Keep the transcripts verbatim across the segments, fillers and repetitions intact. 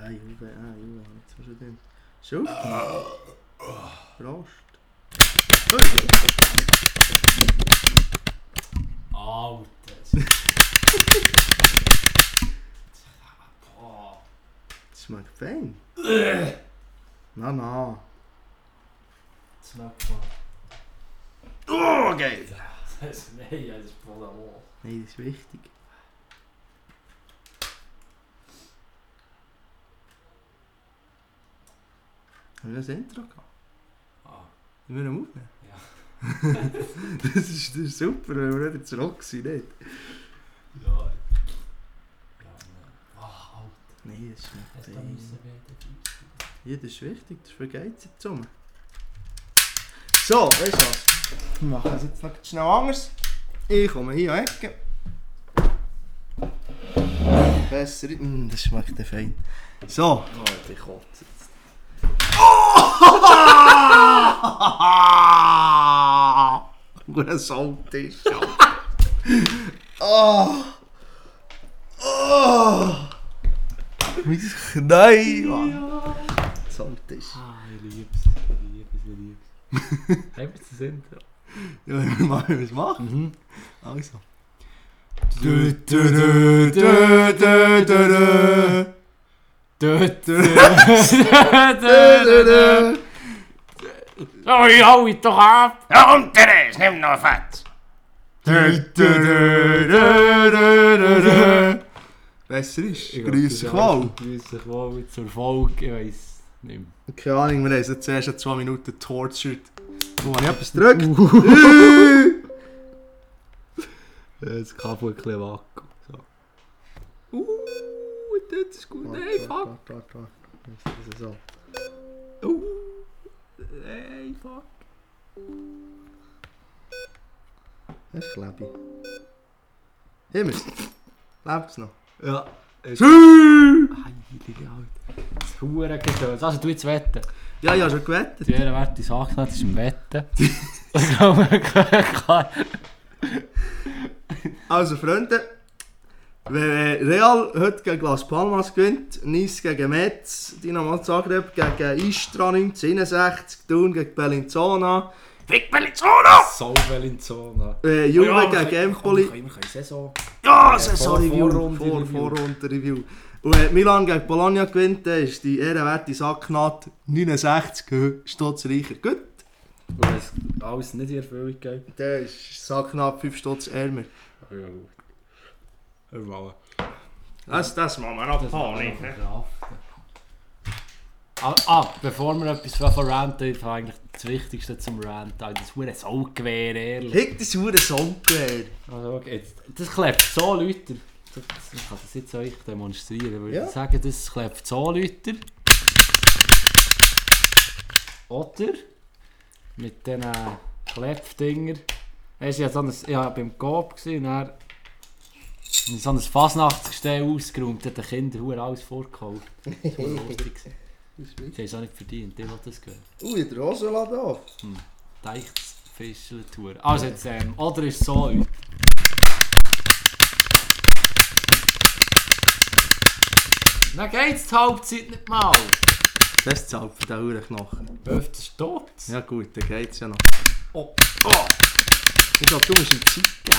Ja, Juve, ja, Juve, jetzt hast du den. Schuld? Prost. Alter. Boah. Das schmeckt fein. Na, na. Das schmeckt mal. Oh, geil. Das heißt, nein, das ist voll am Ohr. Nein, das ist wichtig. Haben wir das Intro gehabt? Ah. Wollen wir ihn aufnehmen? Ja. das, ist, das ist super, wenn wir wieder zurück sind, nicht? Ja. Ja, nein. Ah, Alter. Nein, das schmeckt Es da fein. müssen wir den Ja, das ist wichtig, das vergeht sich zusammen. So, weißt du was? Wir machen es jetzt noch schnell anders. Ich komme hier an die Ecke. Besser. Mm, das schmeckt ja fein. So. Oh, ich kotze jetzt. Guter Saltisch. Oh! Oh! Mein Knie, Mann! Saltisch. Ah, ich lieb's. Ich lieb's, ich lieb's. Haben wir das Intro? Ja, wir machen es machen. Mhm. Also. Du, du, du, du, du, du. Dut, oh, ich hau ihn doch ab! Ja, und Therese, nimm noch Fett! Besser ist. Grüß dich wohl. Grüß dich wohl zur Folge, ich weiss nicht mehr. Keine Ahnung, wir haben jetzt zuerst schon zwei Minuten tortured. Wo habe ich etwas gedrückt? Das Kabel ein bisschen Vakuum. So. Uh, das ist gut. Nein, fuck. Warte, warte, warte. Das ist so. Uh, nein, fuck. Das ist Klebi. Himmels. Lebt es noch? Ja. Schü! Heilige Alter. Das ist verdammt gedöns. Also du jetzt wetten. Ja, ja, schon gewettet. Die Ehrenwerte Sache, das ist im Wetten. Das glaube ich klar. Also Freunde, wenn Real heute gegen Las Palmas gewinnt, Nice gegen Metz, Dinamo Zagreb gegen Istra neunzehnhunderteinundsechzig, Thun gegen Bellinzona, Vic Bellinzona! So Bellinzona. Äh, Juve gegen Empoli. Wir können Saison. Ja, Äh, Saison-Review, Vorrunde-Review. Vor, Vorrunde-Review. Und wenn Milan gegen Bologna gewinnt, dann ist die ehrenwerte Sacknaht neunundsechzig Stutz reicher. Gut. Und wenn es alles nicht in Erfüllung geht. Dann ist Sacknaht fünf Stutz ärmer. Ja, gut. Hör Das, das machen wir noch Panik. Ah, ah, bevor wir etwas von ranten, ist eigentlich das Wichtigste zum Ranten. Das hure Saugewehr, ehrlich. Hick das hure Songgewehr. Also, okay, jetzt, das klebt so Leute. Ich kann das jetzt euch demonstrieren. Würde Ja. ich sagen, das klebt so Leute. Oder mit diesen Klebdingern. Ich war so ein, ja, beim Coop und dann habe ich so ein Fasnachtsgestell ausgeräumt, hat den Kindern verdammt alles vorgekauft. Das war lustig. Sie haben es auch nicht verdient, die wollen das gehen. Ui, der Rosenladen auf. Hm. Deichts Fischeltour. Also jetzt, ähm, oder ist es so, Leute? Dann geht's die Halbzeit nicht mal. Das zahlt für den Hurenknochen. Öfter tot. Ja gut, dann geht's ja noch. Oh. Oh! Ich glaube, du musst ihm Zeit geben.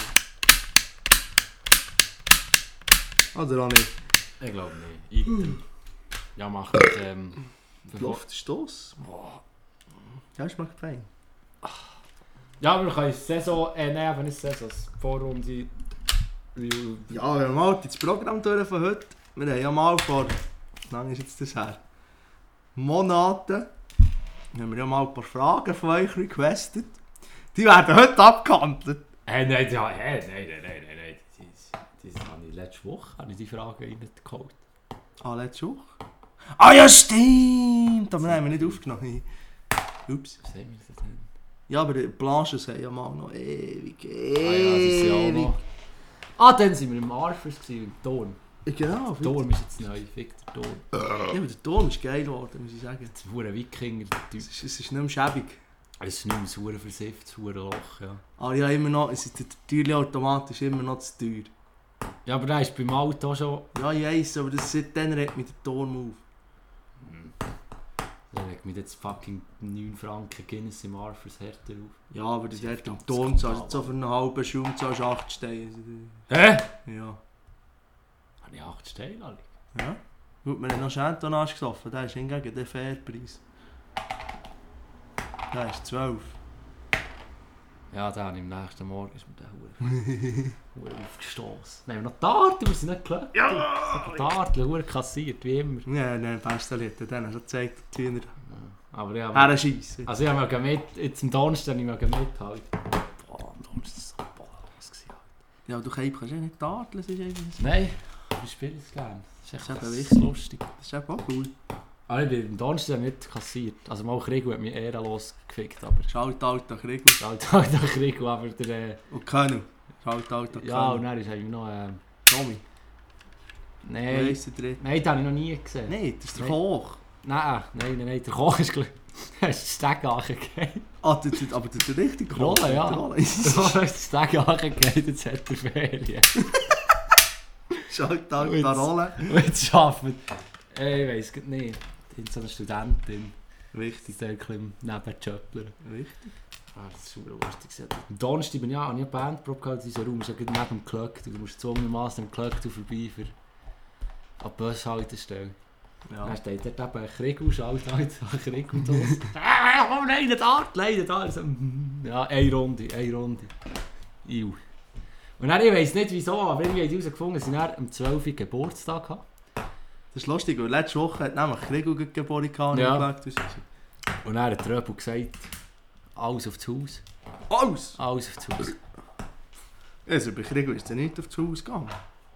Oder auch nicht? Ich glaube nicht. Item. Ja, mach ich, ähm... Luftstoß. Ja, schmeckt fein. Ja, wir können Saison... Äh, nein, aber nicht Saison. Vorrunde... Review. Ja, wir haben mal das Programm durch von heute. Wir haben ja mal vor... Wie lange ist jetzt das her? Monaten. Haben wir ja mal ein paar Fragen von euch requestet. Die werden heute abgehandelt. Äh, nein, ja, äh, nein, nein, nein, nein, nein. Das, das habe ich letzte Woche habe ich die Frage reingeholt. Ah, letzte Woche? Ah ja, stimmt! Aber nein, haben wir nicht aufgenommen. Ups. Was haben wir denn? Ja, aber die Blanches haben ja mal noch ewig, ewig. Ah ja, das ist ja auch noch... Ah, dann waren wir im Arfers, im Turm. Genau. Der Turm ist jetzt neu, fick der Turm. Ja, aber der Turm ist geil geworden, muss ich sagen. Das ist ein Wikinger, der Typ. Es ist, es ist nicht mehr schäbig. Es ist nicht mehr so versifft, das Loch, ja. Aber ja, immer noch, es ist, der Türli-Automat ist immer noch zu teuer. Ja, aber der ist beim Auto schon... Ja, ich weiss, aber das, seitdem regt mich der Turm auf. regt mich jetzt fucking neun Franken Guinness im Arthurs härter auf. Ja, aber das hat am Ton zahlst so für einen halben Schaum zahlst acht Steine. Hä? Ja. Habe ich acht Steine, Ali? Ja. Gut, wir haben noch Chantonage gesoffen, der ist hingegen der Fairpreis. Der ist zwölf. Ja, dann im nächsten Morgen ist mir der Hure aufgestoßen. Nein, noch Tartel, wir sind nicht gelöst. Ja! Tartel, Hure kassiert, wie immer. Ja, nein, beste Lied, den hast du gezeigt, wie er Aber ja, her schiessen. also ich habe mit, jetzt am Donnerstag nicht mehr mithalten. Boah, am Donnerstag war es so ballos gewesen. Ja, du kannst ja nicht tarteln, das ist irgendwie so. Nein, wir spielen es gerne. Das ist echt Das ist eben das wichtig. lustig. Das ist eben auch cool. Aber ich bin am Donnerstag nicht kassiert. Also mal Krieg hat mich ehrenlos gefickt, aber... Schalt alter Krieg Halt halt der Krieg, aber der... Äh, und Könnu. Schalt alter Könnu. ja, und dann ist eigentlich noch... Ähm, Tommy. nein, Weiss der Dritte. nein, den habe ich noch nie gesehen. Nein, das ist der Nein. Koch. Nein, nein, nein, nein, der Koch ist gleich... Er ist den Steg angegeben. Ah, der, der, aber der, der richtige Koch. Rolle, ja. Der Rolle. Der Koch ist den Steg angegeben, jetzt hat er Ferien. Schalt alter Und jetzt- Rolle. Und jetzt arbeitet... Äh, ich weiss grad nicht. Die so eine Studentin. Wichtig. Die ist ein bisschen Nebenjöppler. Wichtig. Ah, das ist super lustig. Am Donnerstag bin ich ja, habe ich eine Bandprobe gehabt, dieser Raum ist ja gerade neben dem Klöcktu. Du musst zwungenermassen am Klöcktu vorbei für an die Bushaltestelle. Ja. Dann steht dort eben ein Kriegel, schaut halt ein Kriegel los. Ah, komm, nein, nicht da, leider da. So, ja, eine Runde, eine Runde. Iu. Und dann, ich weiss nicht wieso, aber irgendwie haben die herausgefunden, dass ich dann am zwölften Geburtstag hatte. Das ist lustig, weil letzte Woche hat nämlich Kriegel geboren gehabt. Ja. Und ich gesagt, Und dann hat der Röbel gesagt, alles auf das Haus. alles! Alles auf das Haus. Also bei Kriegel ist er nicht auf das Haus gegangen.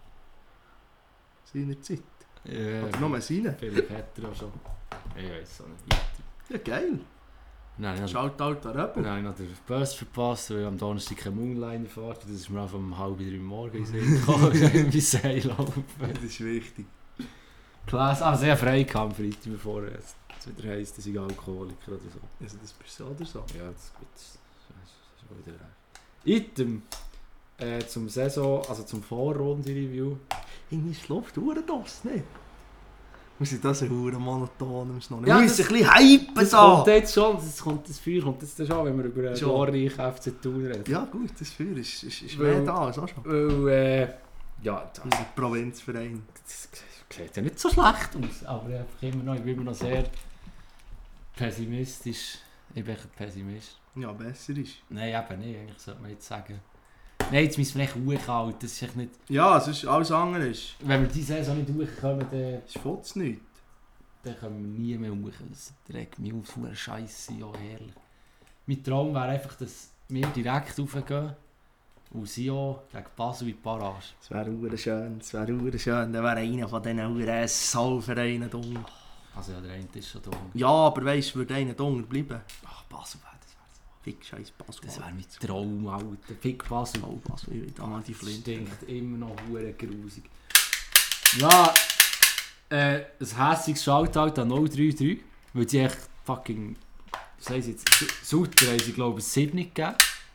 Seiner Zeit. Ja, Oder nur seine. vielleicht hat er auch schon. Ich weiss auch nicht. Ja, geil. Nein, ich Schalt alter Röppel. Dann habe ich noch den Bus verpasst, weil ich am Donnerstag keine Moonliner fahrt. Das ist mir einfach um halb drei morgens in den Sinn gekommen, wie Seil laufen. Das ist wichtig. Klasse, aber sehr frei kam Freitag, bevor es wieder heisst, dass ich Alkoholiker oder so. Also das bist du oder so. Ja, das ist gut. Das ist, das ist wieder recht. Item äh, zum Saison, also zum Vorrunde-Review. Irgendwie ist die Luft verdammt nicht? Wir sind das ein verdammt monoton, wir müssen noch nicht. Ja, Wir müssen das- ein bisschen hypen Das da! kommt jetzt schon, das, kommt, das Feuer kommt jetzt schon, wenn wir über einen Schon. glorreichen F C Thun reden. Ja gut, das Feuer ist, ist, ist Weil- mehr da als auch schon. Weil, äh, ja, das, Unser Provinzverein. das sieht ja nicht so schlecht aus, aber einfach immer noch, ich bin immer noch sehr pessimistisch. Ich bin echt ein Pessimist. Ja, besser ist. Nein, eben nicht, eigentlich sollte man jetzt sagen. Nein, jetzt müssen wir echt hochhalten, das ist echt nicht... Ja, sonst alles andere ist. Wenn wir diese Saison nicht hochkommen, dann, Ist futz nicht. dann können wir nie mehr hoch. Das regt mich auf, so Scheiße, ja herrlich. Mein Traum wäre einfach, dass wir direkt raufgehen und sie auch gegen Basel in die Barrage. Das wäre hure schön, das wäre hure schön. Dann wäre einer von diesen hure Soulvereinen da. Also ja, der eine ist schon da. Ja, aber weisst du, würde einer da bleiben? Ach, Basel wäre das. Fick scheiß Basel. Das wäre mein Traum, Alter. Fick Basel. Oh, Basel, ich will da mal die Flinte. Stinkt immer noch hure grusig. Ja, äh, ein hässiges Shoutout an null drei drei, weil sie echt fucking, was heisst jetzt, Sutter haben sie glaube ich sieben gegeben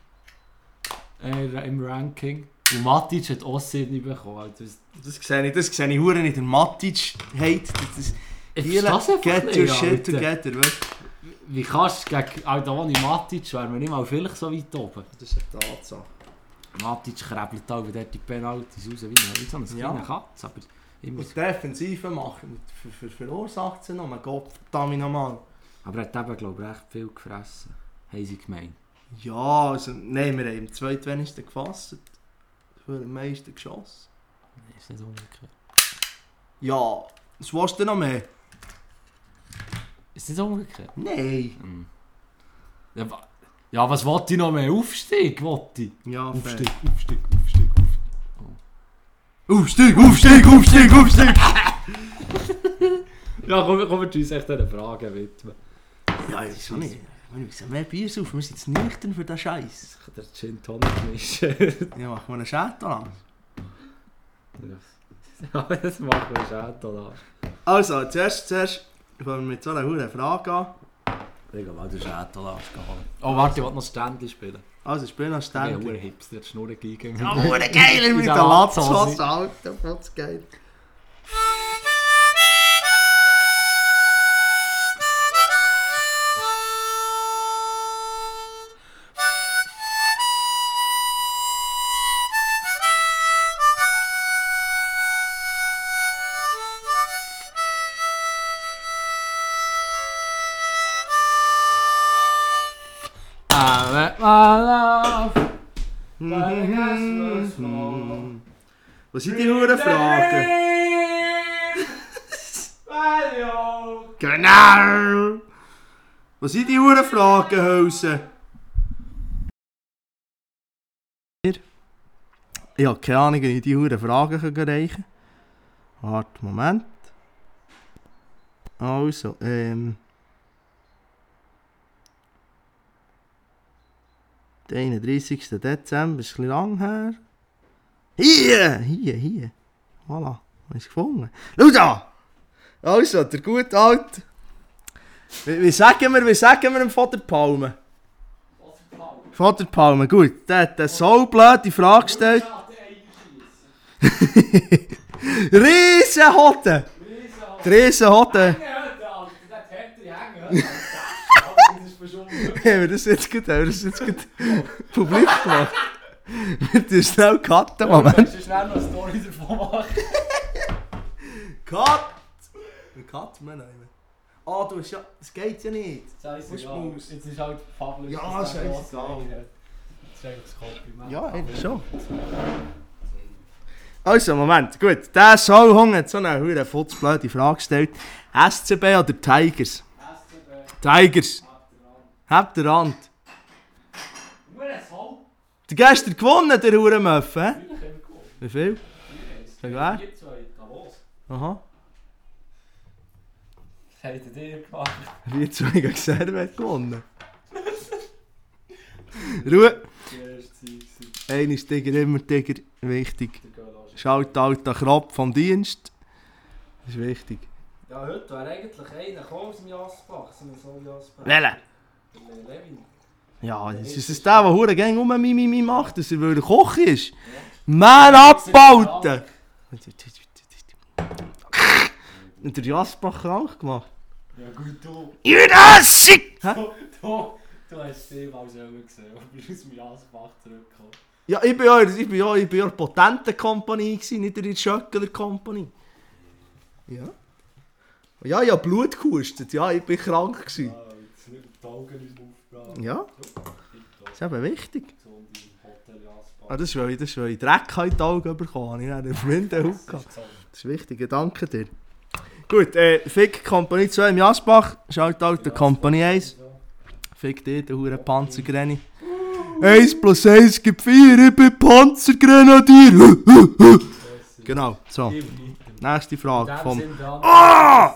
äh, im Ranking. Und Matic hat auch sieben bekommen. Also, das, Das sehe ich, das sehe ich hure nicht. Der Matic hate. Das ist ich Giele, verstehe es einfach get your nicht, shit Alter. together, weißt Wie kannst du gegen Aldoni Matic, wären wir nicht mal vielleicht so weit oben. Das ist eine Tatsache. Matic krebelt auch dort die Penalties raus, wie so eine Ja. kleine Katze. Aber immer Und die Defensive machen, für, für, verursacht sie noch, mein Gott, verdammt nochmal. Aber er hat eben, glaube ich, recht viel gefressen, haben sie gemeint. Ja, also, nein, wir haben im zweitwenigsten gefasst. Für den meisten geschossen. Nee, ist nicht umgekehrt. Ja, was willst du noch mehr? Ist nicht umgekehrt? Nein. Hm. Ja, wa- ja, was wollte ich noch mehr? Aufstieg, wollte ich. Ja, Aufstieg, fair. Aufstieg, Aufstieg, Aufstieg, Aufstieg, Aufstieg, Aufstieg! Ja, kommen kommen wir uns echt diese Fragen widmen. Ja, ich weiß auch nicht. Wir müssen mehr Bier saufen, wir sind jetzt nüchtern für den Scheiß. Ich kann den Gin Tonic mischen. Ja, machen wir einen Chateau. Ja, das machen wir schon da. Also, zuerst, zuerst fangen wir mit so einer hohen Frage an. Ich glaube, du Schätel geholt. Oh, warte, ich will noch Ständchen spielen. Also, ich bin noch Ich bin ein ständig. Hipster, die Schnurren gegen. Ja, oh, der Geiler mit der der Latzhose. Latzhose, Alter, was geil. my love. Was sind die Huren Fragen? Genau! Was sind die Huren Fragen, Hülse? Ich habe keine Ahnung, wie ich die Huren Fragen reichen kann. Warte, Moment. Also, ähm... der einunddreißigsten Dezember ist ein bisschen lang her. Hier, hier, hier. Voilà, habe ich es gefunden. Schau da! Also, der gute Alte. Wie, wie sagen wir, wie sagen wir dem Vater Palme? Vater Palme, gut. Der hat eine so blöde Frage gestellt. Riesenhotte! Riesenhotte! Haben wir das jetzt gut, haben wir das jetzt gut publik gemacht? Wir tun schnell cutten, Moment. Du musst schnell noch eine Story davon machen. Cut! Wie cutten wir noch immer? Ah, du hast ja... Das geht ja nicht. Scheißegal. Jetzt ist halt Pablo. Ja, scheißegal. Das ist eigentlich das Kompliment. Ja, eben schon. Also, Moment, gut. Der Sauhung hat so eine hure futzblöde Frage gestellt. S C B oder Tigers? S C B. Tigers. Habt ihr Hand? Nur ein Soul. Du hast gestern gewonnen, der Hurenmöff, hä? Natürlich haben wir gewonnen. Wie viel? Sag wer? vier zwei, Davos. Aha. Was habt ihr gemacht? vier zwei gegen Servet gewonnen. Ruhe. Die erste Zeit. Einer ist Tiger, immer Tiger. Wichtig. Schaut halt den Krab vom Dienst. Das ist wichtig. Ja, heute wäre eigentlich einer gekommen aus dem Jasbach. So ein so Jasbach. Welcher? Levin. Ja, das ist es der, der hure gang um Mimimi macht, dass er weil er Koch ist. Ja. Man abbauten! Und der Jasbach krank gemacht. Ja gut, du. Jurassic! Du, du, du hast es mal selber gesehen, aber du bist aus dem Jasbach zurückgekommen. Ja, ich bin ja, ich bin ja, ich bin ja in der Potenten-Kompanie, nicht in der Schöckler-Kompanie. Ja. Ja, ich habe Blut gehustet, ja, ich bin krank gewesen. Ja, jetzt nicht die Augen nicht aufgebracht. Ja, das ist eben wichtig. So im Hotel Jasbach. Ah, das ist, weil ich, das ist, weil ich Dreck in die Augen bekommen habe. Ich habe einen Windenhut gehabt. Das ist wichtig, danke dir. Gut, äh, Fick Kompanie zwei im Jasbach, schaut halt der Kompanie eins. Fick dir, der hure Panzergrenni. eins plus eins gibt vier, ich bin Panzergrenadier. Genau, so. Nächste Frage vom... Ah!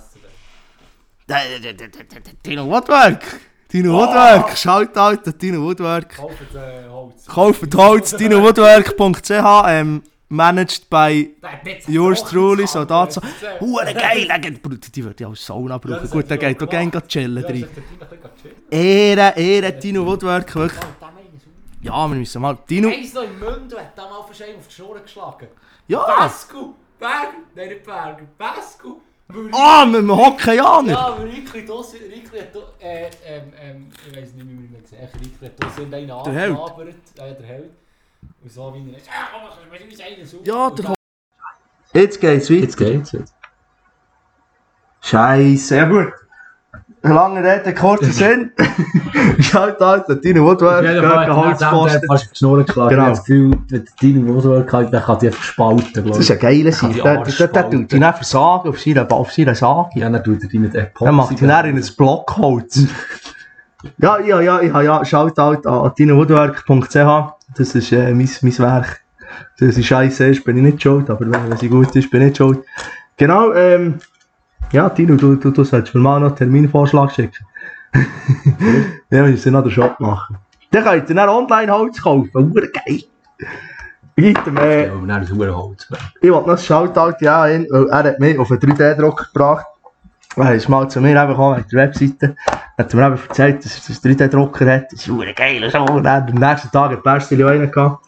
Tino Woodwork! Tino Woodwork! Schaut halt an Tino Woodwork. Kauft äh, Holz. Kauft Holz, tino woodwork punkt c h, ähm, managed by yours truly, so dazu. Hure geil, die würde ich als Sauna brauchen. Gut, der geht auch gerne chillen drin. Ehre, Ehre, Tino Woodwork, wirklich. Ja, wir müssen mal... Tino... Eins noch im Mund, hat da mal verschieden auf die Schnur geschlagen. Ja! Basco! Berger! Nein, nicht Berger. Basco! Ah, mit dem Hockeyaner! Ja, aber Rikli Dossi, Rikli hat äh, ähm, ähm, ich weiss nicht, wie man ihn gesehen hat. Rikli hat Dossi einen angelabert. Ja, der Held. Und so wie er ist. Ja, komm, wir müssen einen suchen. Ja, der Jetzt geht's weiter. Jetzt geht's jetzt. Scheisse, ja gut. Lange Rede, kurzer Sinn. Schaut halt, der Tino Woodwork gegen Holzpfosten. Fast auf die Schnur geschlagen. Genau. Ich habe das Gefühl, wenn der Tino Woodwork hat, dann kann die einfach spalten. Das ist ein geiler Sieg. Der tut ihn dann versagen auf seiner Sage. Ja, dann tut er die mit Epoxy. Dann macht ihn dann in ein Blockholz. Ja, ja, ja, ich habe ja, schaut halt an tino woodwork punkt c h. Das ist äh, mein, mein Werk. Wenn sie scheiße ist, bin ich nicht schuld, aber wenn, wenn sie gut ist, bin ich nicht schuld. Genau, ähm... ja, Tino, du, du, du solltest mir mal noch einen Terminvorschlag schicken. Ja, wir müssen noch den Shop machen. Dann könnt ihr dann Online-Holz kaufen, hure geil. Weiter, äh, Ja, aber dann ist es ein Holz. ich wollte noch ein Shoutout, ja, ihn, weil er hat mich auf einen drei D-Drucker gebracht. Er ist mal zu mir eben gekommen, mit der Webseite. Er hat mir eben erzählt, dass er einen drei D-Drucker hat. Das ist hure geil, so. Und dann am nächsten Tag hat Bärsteli auch einen gehabt.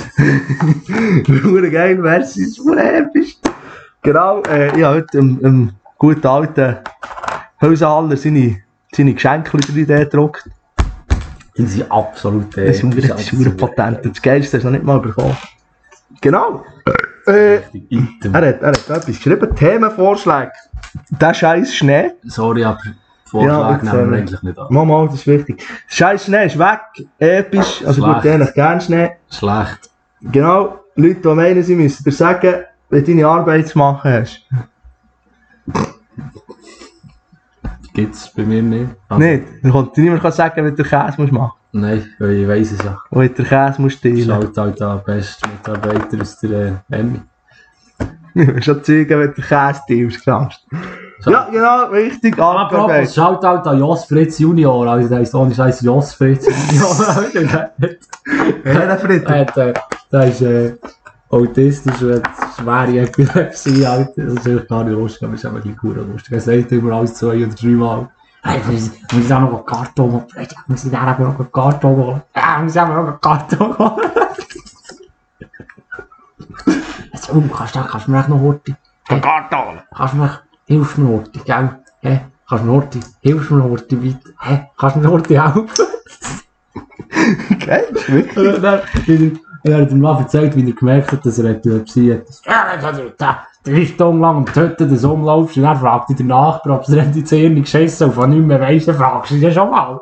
Hure geil, merci, das ist hure episch. Genau, äh, ich habe heute im, im guten alten Hölsenhaller seine, seine Geschenke drei D gedruckt. Die sind absolut... Das ist hure potent. Das Geilste hast du noch nicht mal bekommen. Genau. Äh, er, hat, er hat etwas geschrieben, Themenvorschläge. Der scheiß Schnee. Sorry, aber Vorschläge Ja, nehmen wir äh, eigentlich nicht an. Mama, das ist wichtig. Scheiß Schnee ist weg, episch, also ich würde eigentlich gerne Schnee. Schlecht. Genau, Leute, die meinen, sie müssen dir sagen, wenn du deine Arbeit zu machen hast. Gibt's bei mir nicht. Aber Nicht? Dann kommt dir niemand sagen, wenn du den Käse musst machen nein, weil ich weiss es ja. musst. Wenn du den Käse musst teilen. Schaut halt an, beste Mitarbeiter aus der äh, Emmy. Du musst schon zeigen, wenn du den Käse teilst, glaubst du. Ja, genau, richtig, Apropos, Arbeit. schaut halt an Jos Fritz Junior, also der ist ohne Scheiß Jos Fritz Junior. Wer Fritz? Der, der, der ist äh, autistisch und hat schwere Epilepsie, Alter. Das ist eigentlich gar nicht lustig, aber es ist einfach ein bisschen lustig. Er sagt immer alles zwei oder drei Mal. Hey, muss ich auch noch einen Karton holen? Muss ich da noch einen Karton holen? Ja, muss ich auch noch einen Karton holen? Jetzt, oh, kannst du, kannst du mir echt noch Horti? Von Karton. Kannst du mir, hilf mir Horti, gell? Hä? Kannst du mir Horti? Hilf mir Horti, bitte? Hä? Kannst du mir Horti helfen? Okay, das ist wichtig. Und dann, er hat ihm mal erzählt, wie er gemerkt hat, dass er Epilepsie hat. Ja, dann hat er da drei Stunden lang um die Hütte des umlaufst und dann fragt er den Nachbar, ob er in die Hirn geschissen und von nicht mehr weiss, dann fragst du ihn ja schon mal.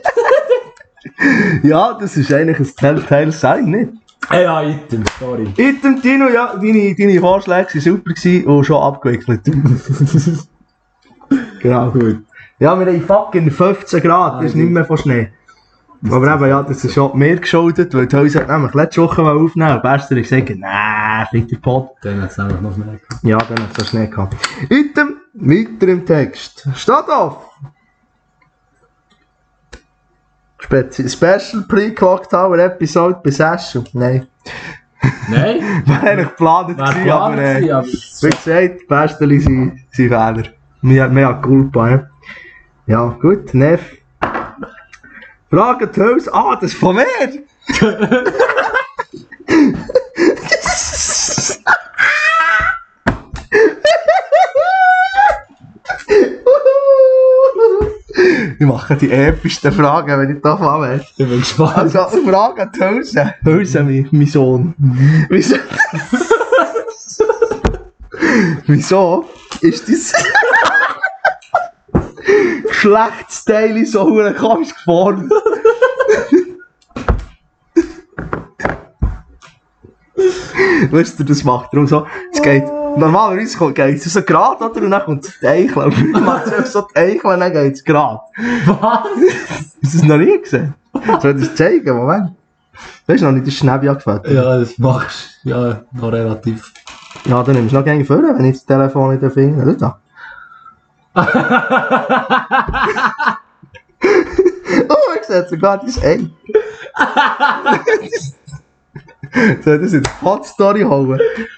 Ja, das ist eigentlich ein Telltale-Sign, nicht? Ja, Item, sorry. Item, Tino, ja, deine, deine Vorschläge waren super gewesen und schon abgewickelt. Genau. Gut. Ja, wir haben fucking fünfzehn Grad, das ist nicht mehr von Schnee. Aber eben, ja, das ist schon mehr geschuldet, weil die Häuser hat nämlich letzte Woche mal aufnehmen und Bester hat gesagt, nein, fick Pot. Dann hat es einfach noch Schnee gehabt. Ja, dann hat es so Schnee gehabt. Item, weiter im Text. Steht auf! Spezi Special Pre-Clock Tower Episode bei Session. Nein. Nein? War eigentlich geplant Wäre gewesen, aber geplant gewesen, äh, aber... wie gesagt, Besteli sind sind Fehler. Mehr, mehr Culpa, ja. Ja, gut, Neff. Frage die Hülse. Ah, das ist von mir! Ich mache die epischsten Fragen, wenn ich da anwähle. Ich bin gespannt. Also, Frage an die Hülse. Hülse, mein, mein Sohn. Wieso? Wieso ist dein Geschlechtsteil so hure komisch geformt? Weißt du, das macht darum so, es geht, normalerweise geht es so gerade, oder? Und dann kommt es die Eichel. Und dann macht es so die Eichel und dann geht es gerade. Was? Hast du das noch nie gesehen? Soll ich das zeigen? Moment. Weißt du noch nicht, das Schnäbi angefällt? Ja, das machst du. Ja, noch relativ. Ja, dann nimmst du noch gerne vor, wenn ich das Telefon in den Finger habe. Da. Oh, ich sehe sogar das Ei. Soll ich das in die Hot-Story holen?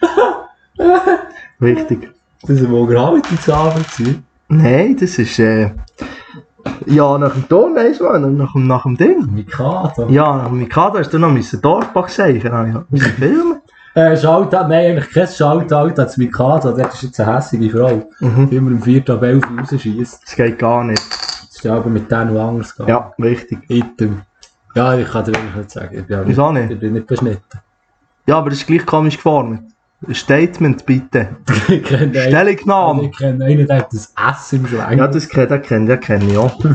Wichtig. Das war wohl Gravity-Abend. Nein, das ist äh... ja, nach dem Ton, nein, nach, dem- nach dem Ding. Mikado. Ja, nach dem Mikado hast du noch müssen Dorfbach sagen. Ja, müssen filmen. Äh, Shoutout, nein, eigentlich kein Shoutout an das Mikado, das ist jetzt eine hässliche Frau. Mhm. Die immer im vierten ab elf rausschießt. Das geht gar nicht. Das ist aber mit denen noch anders gegangen. Ja, richtig. Item. Ja, ich kann dir wirklich nicht sagen. Ich bin, auch Wieso nicht? Ich bin nicht beschnitten. Ja, aber das ist gleich komisch geformt. Ein Statement, bitte. Ich kenne einen, also Stellungnahme. ich kenne einen, der hat das S im Schwein. Ja, das kennt, das kennt, das kenne ich auch.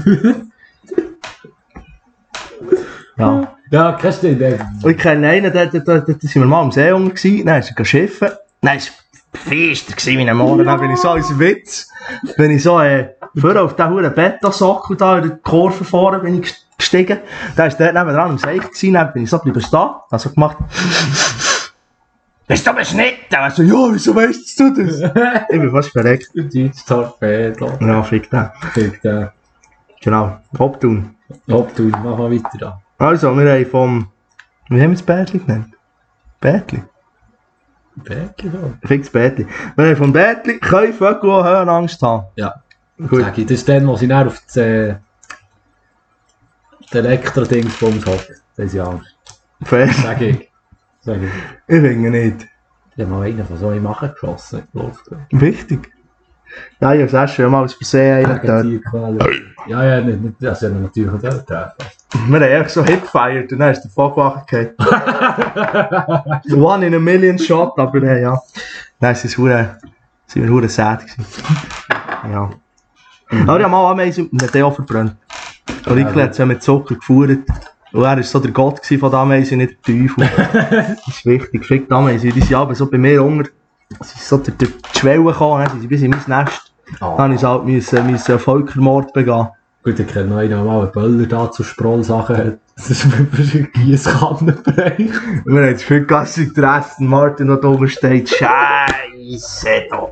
Ja. Ja, kennst du den? Und ich kenne einen, da, da, da, da sind wir mal am See unten gewesen, dann ist er schiffen. Nein, es war fester gewesen wie ein Morgen. Dann bin ich so als Witz, bin ich so äh, vorher auf diesen verdammten Beta-Sockel da in der Kurve vorne bin ich gestiegen. Dann war der nebenan am See gewesen, dann bin ich so geblieben stehen, hab so gemacht. Bist du beschnitten? Er so, ja, wieso weißt du das? Ich bin fast verreckt. Deutsch Torpedo. Ja, fick den. Fick den. Genau, Haupttun. Ob du, mach mal weiter da. Also, wir haben vom... Wie haben wir das Bärtli genannt? Bärtli? Bäcki da. Fix Bärtli. Wir haben vom Bärtli, können Vögel auch Höhenangst haben. Ja. Gut. Sag ich, das ist dann, wo sie dann auf das, äh, das Elektro-Dingsbums hocken. Das ist ja Angst. Fair. Sag ich. Sag ich. Ich finde nicht. Ich habe mal einen von so einem Machen geschossen in die Luft. Wichtig. Ja, ich habe es schon mal aus Versehen einen getötet. Tierquäler. Ja, ja, nicht, nicht, das ist ja natürlich nicht treffen. Wir haben einfach so Hit gefeiert und dann ist der Vogel wachgefallen. One in a million shot, aber äh, ja. Nein, es war hure- sind wir hure sad gewesen. Ja. Mhm. Aber ich habe mal Ameisen und hat den auch verbrannt. Und ich hat sie mit Zucker gefuhrt. Und er war so der Gott von der Ameisen, nicht der Teufel. Das ist wichtig. Fick die Ameisen, die sind aber so bei mir unter. Sie sind so durch die Schwelle gekommen, sie sind bis in mein Nest. Oh. Dann musste ich halt müssen Völkermord begehen. Gut, ich kenne noch einen, der mal einen Böller da zu Sprollsachen hat. Das ist mir ein Giesskannenbereich. Wir haben das Gefühl, dass sich der Aston Martin noch oben steht. Scheisse da.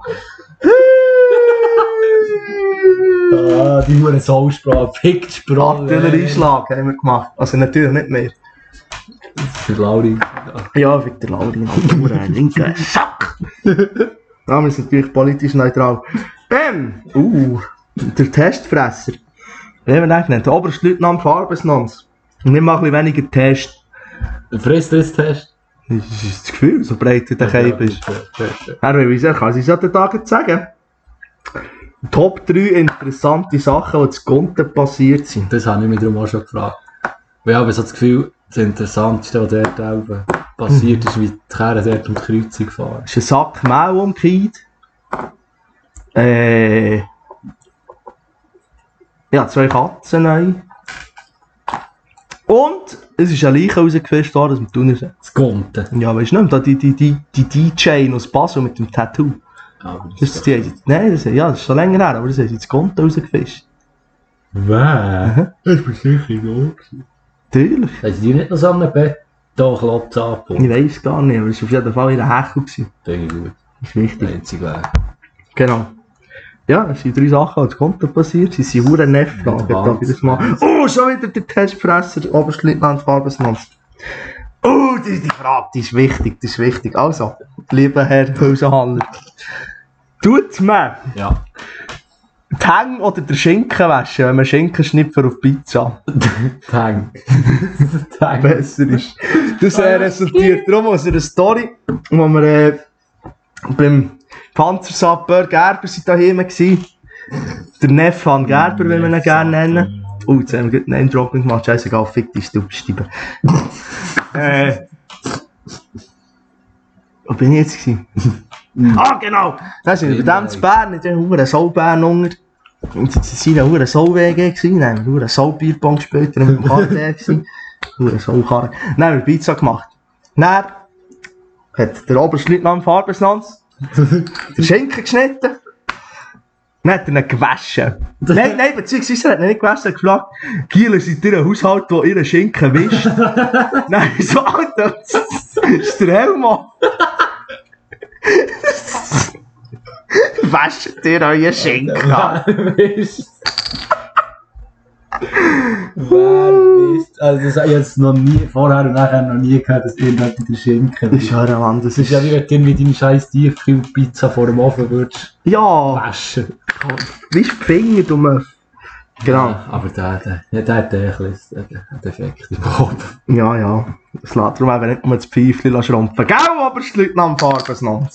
Ah, die Huren Soulsprache, Pickt Sprache. Artillerieschlag haben wir gemacht. Also natürlich nicht mehr. Für Lauri. Ja, für den Lauri. Ein linker Sack. Ja, wir sind natürlich politisch neutral. Bam! Uh, der Testfresser. Wie haben wir den genannt? Der Oberstleutnant Farbesnanz. Und wir machen ein bisschen weniger Test. Ein Frisstest? Das ist das Gefühl, so breit wie der Keib ist. Er will ich kann es an den Tagen sagen. Top drei interessante Sachen, die zu Gunten passiert sind. Das habe ich mich darum auch schon gefragt. Weil ich habe so das Gefühl, das Interessanteste, was dort oben passiert ist, wie die Kerren dort um die Kreuzung gefahren. Es ist ein Sack Mehl umgekehrt. Äh... Ja, zwei Katzen neu. Und es ist eine Leiche rausgefischt worden aus dem Thunersee. Das Gunten? Ja, weißt du nicht, die, die, die, die D J aus Basel mit dem Tattoo. Ah, das ist die, nein, das, ja, das ist schon länger her, aber das haben sie das Gunten rausgefischt. Wer? Das war sicher noch. Natürlich. Haben sie die nicht noch so einen Betonklotz angepumpt? Ich weiss gar nicht, aber es war auf jeden Fall in der Hechel. Denke ich gut. Das ist wichtig. Einzig Weg. Genau. Ja, es sind drei Sachen, die Konto passiert. Sie sind hure Nefflagen. Oh, schon wieder der Testfresser, Oberstleutnant Farbesnanz. Oh, die, die Frage, die ist wichtig, die ist wichtig. Also, lieber Herr Hausenhaller, tut man ja. die Hänge oder den Schinken waschen, wenn man Schinkenschnipfer auf Pizza? Die Hänge. Die Hänge. Besser ist. Das äh, resultiert darum aus einer Story, wo wir äh, beim Panzersapper Gerber waren daheim. Der Neffe von Gerber, will man ihn gerne nennen. Oh, jetzt haben wir einen Name-Dropping gemacht. Scheißegal, fick dich, du Stiebe. äh. Wo bin ich jetzt gewesen? Ah, genau! Das ist bei dem zu Bern, in der Soulbären unter. Und sie waren in der Soul-W G, dann haben wir Soul-Bierpong gespielt, dann waren wir im K T F. Soul-Karre. Dann haben wir Pizza gemacht. Dann hat der Oberstleutnant Farbesnanz den Schinken geschnitten. Dann hat er ihn gewaschen. Nein, nein, beziehungsweise er hat ihn nicht gewaschen, er hat gefragt, Giel, seid ihr ein Haushalt, der ihren Schinken wischt? Nein, so, Alter, das ist der Helmut. Wascht ihr euren Schinken an? Wer wisst? Also das habe ich jetzt noch nie, vorher und nachher noch nie gehört, dass irgendjemand den Schinken Das ist ja ein Mann, das ist ja wie wenn du irgendwie deine scheiß Tiefkühlpizza vor dem Ofen würdest ja waschen. Wie ist die Finger, du Möff? Genau. Ja, aber der, der, der, der hat ein bisschen einen Defekt im Kopf. Ja, ja. Es lässt darum eben nicht nur das Pfeifchen schrumpfen. Gell, aber es liegt am Farbesnanz.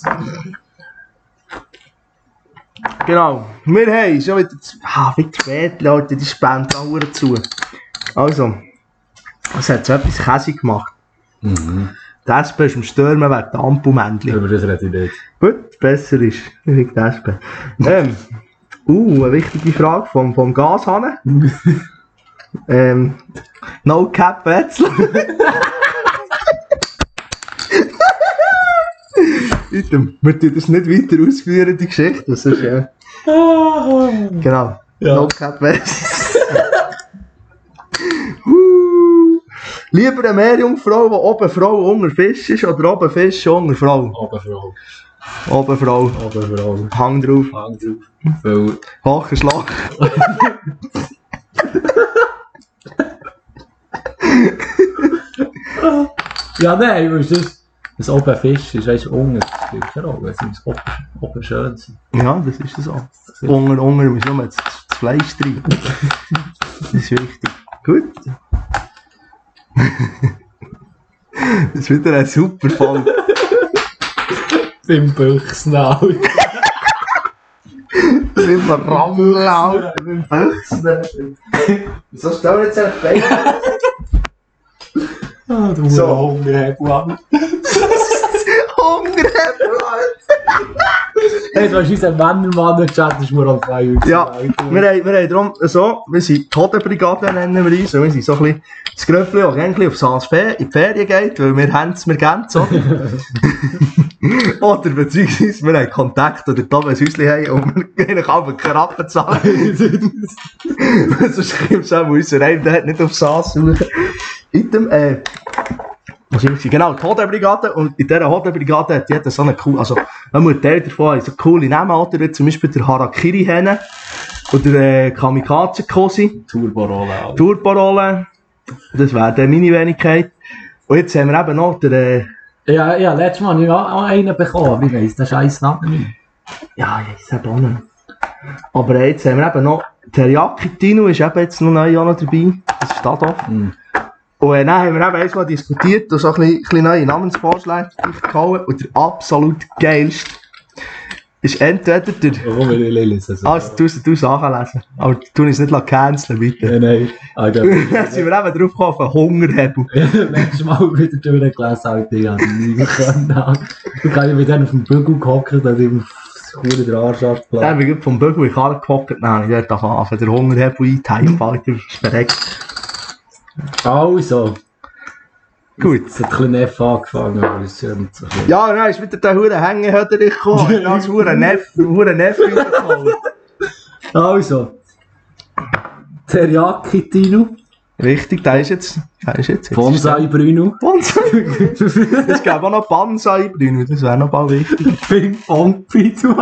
Genau. Wir haben schon wieder... Ah, wie spät, Leute, die spenden auch zu. Also, es hat so etwas Käse gemacht. Mhm. Die S P ist im Stürmen wegen der Ampelmännchen. Über das rede ich nicht. Gut, besser ist. Ich die S P. ähm, uh, eine wichtige Frage vom, vom Gashahn. ähm, No Cap Wetzlar. Wir tun das nicht weiter ausführen, die Geschichte. Das ist, äh, genau. Ja. No Cap Wetzlar. uh, lieber eine Meerjungfrau, die oben Frau unter Fisch ist, oder oben Fisch unter Frau? Oben Frau. Oben Frau. Oben Frau. Hang drauf. Hang drauf. Weil... Hocher Schlag. Ja, nein, weil das... Das oben Fisch ist, weißt du, unten spielt keine Rolle, es muss oben, oben schön sein. Ja, das ist so. Unter, unter muss nur das, das Fleisch drin. Das ist wichtig. Gut. Das ist wieder ein super Fall. Beim Büchsnau. Beim Rammelau. Beim Büchsnau. Wieso stell jetzt ein Bein? Ah, du so. Hungerhebel an. Hungerhebel, Alter. Hey, du hast unseren Männermann-Chat, das ist mir auf zwei Ja, wir haben, wir haben darum so, wir sind die Hodenbrigade, nennen wir uns, und wir sind so ein bisschen das Gröppli, das ein bisschen auf Saas in die Ferien geht, weil wir haben es, wir geben es, oder? Oder beziehungsweise wir haben Kontakt, oder da, wenn wir Häuschen haben, und wir gehen einfach keine Rappen zahlen. Sonst kommt es auch unser Reim, der hat nicht auf Saas suchen. Item, äh, genau, die Hodenbrigade, und in dieser Hodenbrigade hat jeder so eine coole, also ein Teil davon hat so coole Namen, oder? Wie zum Beispiel der Harakiri-Henne oder der Kamikaze-Kosi. Turborolle. Turborolle, das wäre dann meine Wenigkeit. Und jetzt haben wir eben noch den... Äh, ja, ja, letztes Mal habe ich auch einen bekommen, aber ich weiss den scheiß Namen nicht. Ja, ich weiss eben auch nicht. Aber äh, jetzt haben wir eben noch... Teriyaki Tino ist eben jetzt noch neu auch noch dabei, das ist da doch. Mm. Und äh, dann haben wir eben einmal diskutiert und so ein bisschen, ein bisschen neue Namensvorschläge gehauen. Und der absolut geilste ist entweder der... Warum will ich lesen? Ah, du musst es nachlesen. Aber du es nicht canceln, bitte. Nein, nein. Dann sind wir eben drauf gekommen auf einen Hungerhebel. Letztes Mal wieder durchgelesen, Alter. Ich habe nie können. Ich kann mit denen auf dem Bügel gehockt, dass ich auf das der Arsch abgelassen. Dann bin ich vom Bügel in die Karre gehockt, dann habe ich dort angefangen, den Hungerhebel einteilen, Alter. Das ist verreckt. Also. Gut. Es hat ein bisschen Neff angefangen, aber es ist nicht so viel. Ja, dann ist wieder der hure Hängehöder gekommen. Dann ist hure Neff, hure Neff gekommen. Also. Teriyaki Tino. Richtig, der ist jetzt. Der ist jetzt. jetzt Bonsai Bruno. Bonsai. Es gäbe auch noch Bonsai Bruno, das wäre noch bald wichtig. Ping Pong Pizza.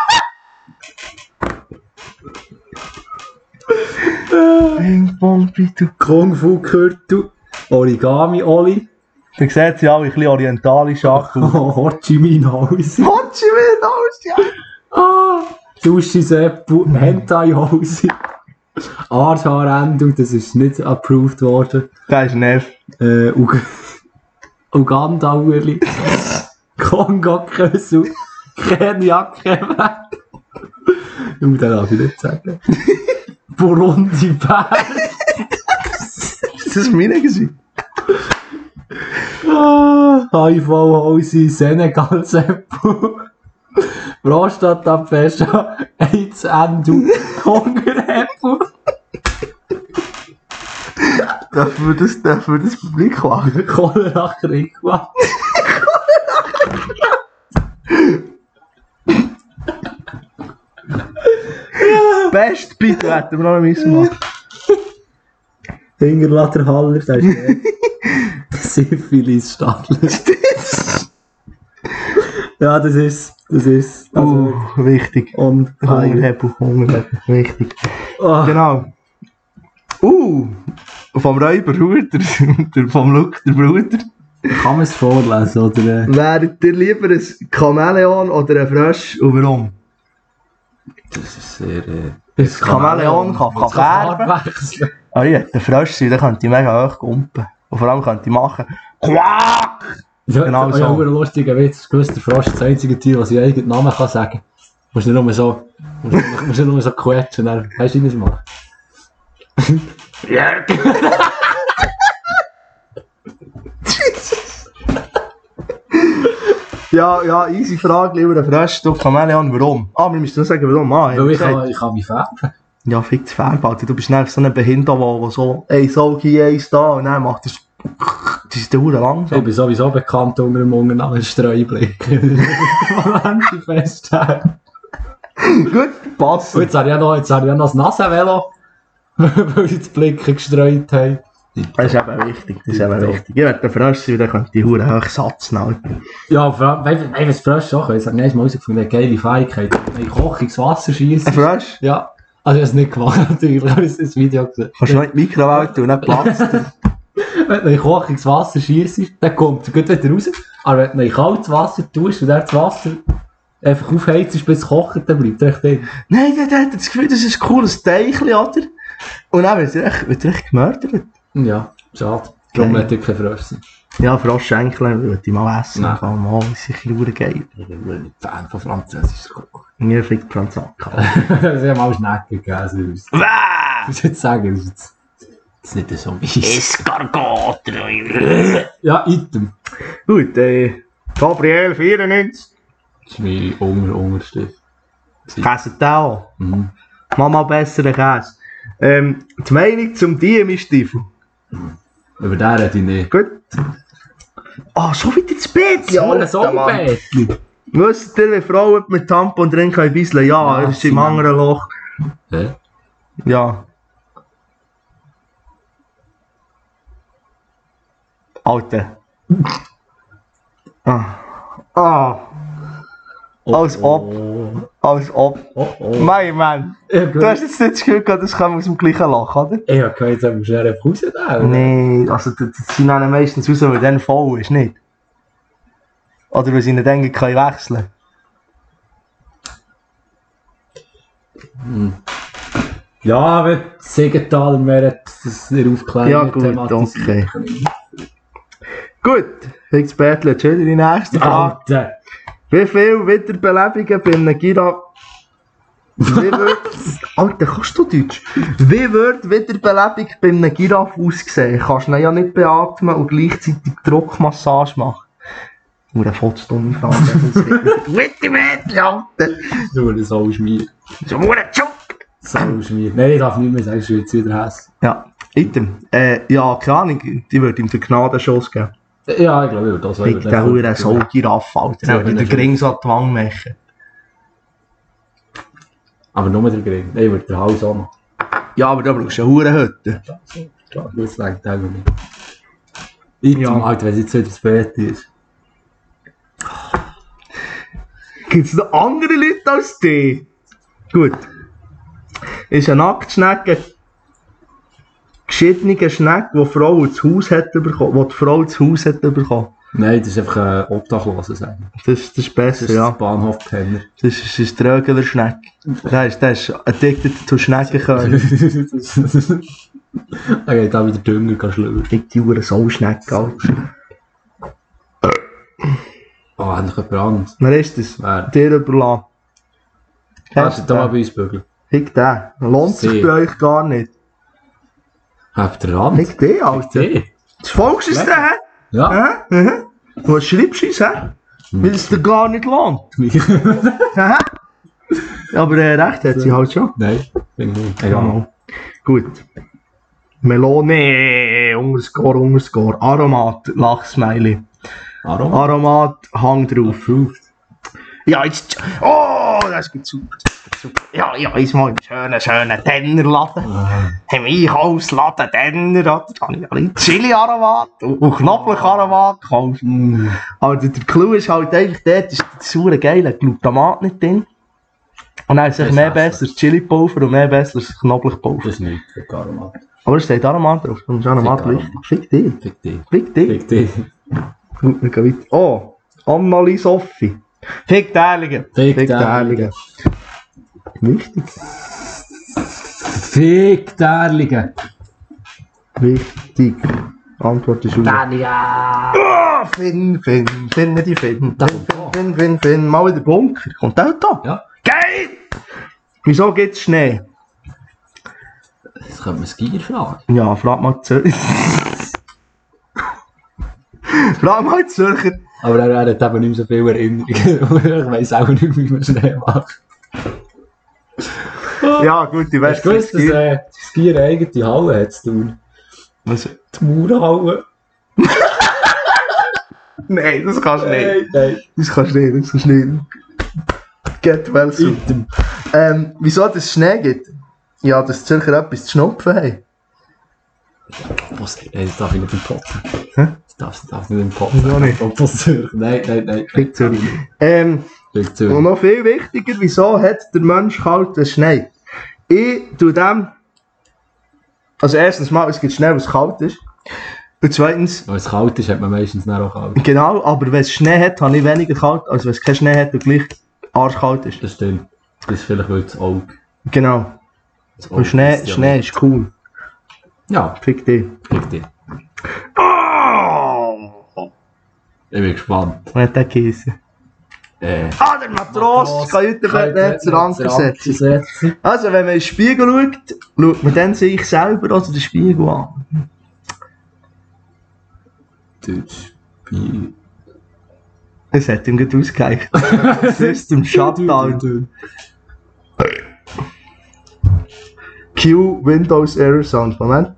Ping Pong Pizza. Kung Fu Kurtu. Origami Oli. Da sieht sie alle ein bisschen orientalisch an. Ho Chi Minh House. Ho Chi Minh House, ja. Ah. Sushi Seppu. Hentai House. Arthaarendo, das ist nicht approved worden. Das ist Neff. Äh, Ug Uganda Ueli. Kongo Kösu. Kenya Quebec. Ich muss den darf ich nicht sagen. Burundi Bär. Ist das meine gewesen? H I V-Hose, Senegal Seppu. Prostatabfäscher, AIDS Endu, Hungerhebel. Darf man das, darf man das Publik machen? Cholera Krikwa. Best bitte hätten wir noch müssen machen. Hingerlader Haller, das ist Syphilis Stadler. Ja, das ist, das ist. Also, uh, wichtig. Und Hungerhebel, Hungerhebel, wichtig. Oh. Genau. Uh, vom Räuber der, der, vom Luke, der Bruder. Kann man es vorlesen, oder? Wäret ihr lieber ein Chamäleon oder ein Frosch und warum? Das ist sehr... Äh, ein Chamäleon kann, kann färben. Ah ja, der Frosch sein, der könnte mega hoch kumpen. Und vor allem könnte ich machen... Quack! Ja, genau so. Ja, ein lustiger Witz. Gewusst, der Frosch ist das einzige Tier, das ich eigenen Namen kann sagen. Du musst nicht nur so... Du musst nicht nur so quetschen. Dann, weißt du, wie ich das mache? Ja! Ja, ja, easy Frage, lieber ein Frosch, du Chamäleon, warum? Ah, wir müssen nur sagen, warum. Ah, Weil ich kann, ich kann mich färben. Ja, fick das Färben, du bist nicht so ein Behinderter, der so, ey, so hier, eins da, und dann macht das... Das ist der Uhr langsam. Ich bin sowieso bekannt unter dem Unternamen Streublick. Moment, ich feststellen. Gut, passt. Und jetzt habe ich ja noch, jetzt habe ich ja noch das Nasenvelo, weil ich das Blicken gestreut habe. Das ist eben wichtig, das ist eben wichtig. Ich werde Frosch sein, dann könnte die Hure hoch Satz nehmen. Ja, vor allem, wenn wenn es Frosch auch ist, habe ich mal herausgefunden, eine geile Fähigkeit. Wenn ich Koch ins Wasser schieße. Ein Frosch? Ja. Also ich habe es nicht gemacht, natürlich, ich habe das Video gesehen. Kannst du noch in die Mikrowelle tun, nicht platzt. Wenn du in Koch ins Wasser schießt, dann kommt es gut wieder raus. Aber wenn du in kaltes Wasser tust und dann das Wasser einfach aufheizt, bis es kocht, dann bleibt es echt drin. Nein, der, der hat das Gefühl, das ist ein cooles Teichchen, oder? Und dann wird er echt, wird er echt gemördert. Ja, schade. Darum möchte ich kein Frosch sein. Ja, Froschschenkel würde ich mal essen. Nein. Kann mal, das ist ein bisschen geil. Ich bin nicht Fan von französischer Koch. Mir fliegt Franzaka. Sie haben auch Schnecke gegessen. Ich muss jetzt sagen, das ist jetzt, das ist nicht so mies. Escargot! Ja, Item. Gut, äh, Gabriel vierundneunzig. Das ist mein Unger Unterstift. Käse den auch. Mhm. Mach mal besseren Käse. Ähm, die Meinung zum Diemi-Stiefel. Über den rede ich nicht. Gut. Ah, oh, schon wieder das Bett. Ja, ein Sonnenbettli. Wisst ihr, wenn Frauen mit Tampon drin können bisseln? Ja, Ja, er ist im sie anderen Loch. Hä? Ja. Alter. Ah. Ah. Als ob. Als ob. Oh oh. Mein Mann. Du hast jetzt nicht das Gefühl gehabt, das kommt aus dem gleichen Loch, oder? Ich hab gehört, jetzt musst du einfach rausnehmen. Nee, also das sind dann meistens raus, weil dann voll ist, nicht? Oder weil sie nicht denken, kann ich wechseln. Hm. Ja, aber Siegenthaler wäre das nicht aufklären. Ja gut, okay. Gut, jetzt Bertel, jetzt wieder die nächste Frage. Alter! Wie viele Wiederbelebungen bei einem Giraffe... Wie wird... Alter, kannst du Deutsch? Wie wird Wiederbelebung bei einem Giraffe aussehen? Kannst du ihn ja nicht beatmen und gleichzeitig Druckmassage machen. Nur eine vollstumme Frage. Witte Mädchen, Alter! Du, das soll schmieren. So nur ein Job! Soll schmieren. Nein, ich darf nicht mehr sagen, ich will jetzt wieder Hass. Ja, item. Äh, ja, keine Ahnung, die würde ihm den Gnadenschuss geben. Ja, ich glaube, ich würde das Fick der Hure so Giraffe, Alter. Ja, Der würde den Gring so an die Wange machen. Aber nur der Gring. Nein, ich würde den Hals auch noch. Ja, aber da brauchst du eine Hurenhütte. Klar, das längt auch nicht. Item, Ja. Alter, wenn es jetzt wieder das Bett ist. Gibt es noch andere Leute als die? Gut. Ist eine Nacktschnecke geschiedene Schnecke, die die Frau ins Haus hat bekommen, die die Frau ins Haus hat bekommen. Nein, das ist einfach ein Obdachloser sagen. Das, das ist besser, Das ist ja. ein Bahnhofpenner. Das ist, das ist der Rögeler Schnecke. Der ist, der ist addicted to Schneckenkönig. Er geht auch wieder Dünger schlürfen. Ich die Uhr so Schnecke, Alter. Oh, endlich jemand anderes. Wer ist das? Wer? Dir überlassen. Hast du da mal bei uns bügeln? Hick den. Lohnt sich Sie. bei euch gar nicht. Habt ihr Rand? Hick den, Alter. Die? Das Volks ist der, hä? Ja. Hä? Mhm. Was schreibst du uns, hä? Weil es dir gar nicht lohnt. Hä? Aber äh, recht hat sie halt schon. Nein, bin ich nicht. Ja, Egal. mal. Gut. Melone, Unterscore, Unterscore. Aromat, Lachsmiley. Aroma? Aromat, Hang drauf. Approved. Ja, jetzt. Oh, das geht super. super. Ja, ja, jetzt mal einen schönen, schönen Tennerladen. Im Einkaufsladen Tenner. Da habe ich alle Chili-Aromat und Knoblauch-Aromat gekauft. Aber der, der Clou ist halt einfach dort, ist das saure geile Glutamat nicht drin. Und dann ist es Das mehr ist besseres Chili-Pulver und mehr besseres Knoblauchpulver. Das ist nicht für Aromat. Aber es steht Aromat drauf. Und das ist Aromat Fick wichtig. Fick dich. Fick dich. Fick dich. Fick dich. Gut, wir gehen weiter. Oh, Annali Sophie. Fick die Ehrlichen. Fick die die Ehrlichen. Wichtig. Fick die Ehrlichen. Wichtig. Antwort ist aus. Ja. Oh, Finn, Finn, Finn, die Finn. Da Finn, kommt Finn, Finn, Finn. Mal in den Bunker. Kommt auch da? Ja. Geil! Wieso gibt es Schnee? Das könnte man Skier fragen. Ja, frag mal Zürcher. Frag mal Zürcher. Aber er hat eben nicht mehr so viele Erinnerungen. Ich weiss auch nicht, wie man Schnee macht. Ja, gut, ich Hast weiß du gewusst, dass äh, Skier eine eigene Halle hat zu tun? Was? Die Mauerhalle. Nein, das kannst du nicht. Nein, nein. Das kannst du nicht, das kannst du nicht. Get well soon. Item. Ähm, wieso es Schnee gibt? Ja, dass die Zürcher etwas zu schnupfen haben. Was? Nein, das darf ich nicht im Pott. Hä? Das darf, das darf nicht im Pott. Wieso nicht? Ob das Zürich? Nein, nein, nein. Fick Zürich. Ähm, Fick und Zürich. noch viel wichtiger, wieso hat der Mensch kalt, wenn es schneit? Ich tue dem... Also erstens mal, es gibt Schnee, wenn es kalt ist. Und zweitens... Wenn es kalt ist, hat man meistens dann auch kalt. Genau, aber wenn es Schnee hat, habe ich weniger kalt, als wenn es keinen Schnee hat und gleich arschkalt ist. Das stimmt. Das ist vielleicht weil das Auge. Genau. Das Und Schnee, ist ja Schnee nicht. ist cool. Ja, Fick dich. fick dich. Oh! Ich bin gespannt. Was hat der geheißen? Äh, Ah, der Matros kann Juttenbettnetzer Anker setzen. setzen. Also, wenn man in den Spiegel schaut, schaut man dann sich selber oder den Spiegel an. Das Spiel. Es hat ihm gut ausgereicht. System Shutdown. Q Windows Error Sound. Moment.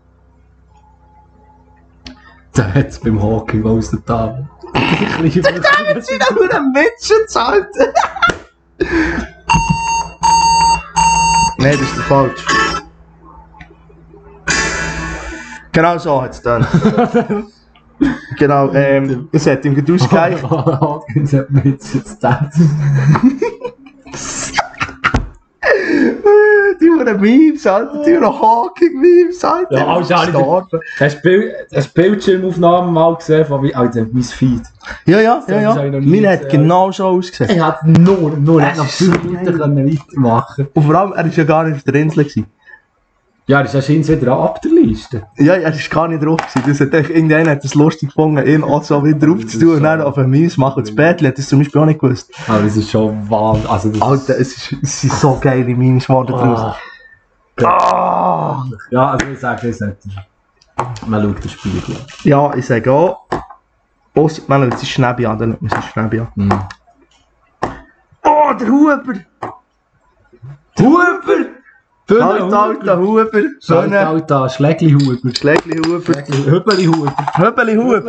Der hat es beim Hockey aus der Tafel. Ich liebe es. Der hat sich da nur einen Mitschutz, Alter. Nein, das ist der falsch. Genau so hat es dann. Genau, ähm, es hat ihm gut ausgereicht. Hawkins hat Mitschutz gedacht. Die wurden Memes, Alter. Die wurden Hawking-Memes, Alter. Ja, also, hast du die Bildschirmaufnahmen mal gesehen von wie, Alter, mein Feed? Ja, ja, ja, ja. Meine hat gesehen. genau so ausgesehen. Er hat nur, nur, er hat noch Das ist fünf Minuten können weitermachen. Und vor allem, er war ja gar nicht auf der Insel gewesen. Ja, das ist anscheinend wieder ab der Liste. Ja, er war gar nicht drauf gewesen. Das hat echt, irgendeiner hat es lustig gefunden, ihn auch so wieder drauf zu tun und dann auf ein Memes machen. Das Bärtli hat das zum Beispiel auch nicht gewusst. Aber das ist schon Wahnsinn. Also das Alter, es, ist, es sind so geile Memes geworden draus. Ah. Ja, also ich sage, das hat er. Man schaut das Spiel. Ja, ich sage auch. Ausser, man schaut sich Schnäbi an, dann schaut man sich Schnäbi an. Mhm. Oh, der Huber! Huber! Alter, alter Huber! Schöne. Alter, Schlägli-Huber. Schlägli-Huber. Höbeli-Huber. Höbeli-Huber.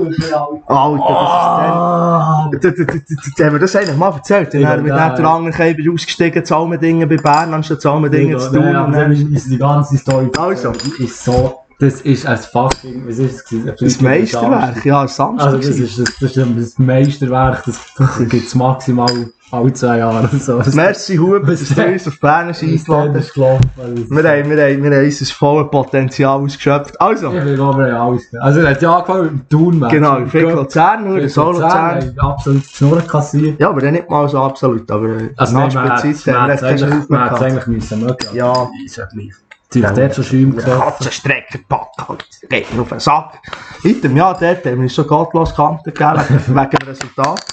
Alter, das ist der... Haben wir das eigentlich mal erzählt? Dann haben wir mit der anderen Käfer ausgestiegen, Zalmendingen bei Bern, anstatt Zalmendingen zu tun. Ja, dann ist die ganze Story. Also. Ist so... Das ist ein fucking... Was ist es? Das Meisterwerk, ja, Samstag. Also das ist das, das, ist das Meisterwerk, das, das gibt es maximal alle zwei Jahre. So. Merci Huber, dass du uns auf Bern eingeladen hast. Wir haben, wir, haben, wir haben unser volles Potenzial ausgeschöpft. Also. Ich will aber ja alles. Also er hat ja angefangen mit dem Tun-Match. Genau, Fick Luzern, nur der Solo-Luzern. Absolut Schnurren kassiert. Ja, aber dann nicht mal so absolut, aber also nach Spielzeit haben wir echt keine Hilfe mehr gehabt. Man hätte es eigentlich mögen. Ja. Natürlich, der hat schon Schäume gehabt. Katzenstrecker packt, geht mir auf den Sack. Weiter, ja, dort haben wir uns so gottlos Kanten gegeben, wegen dem Resultat.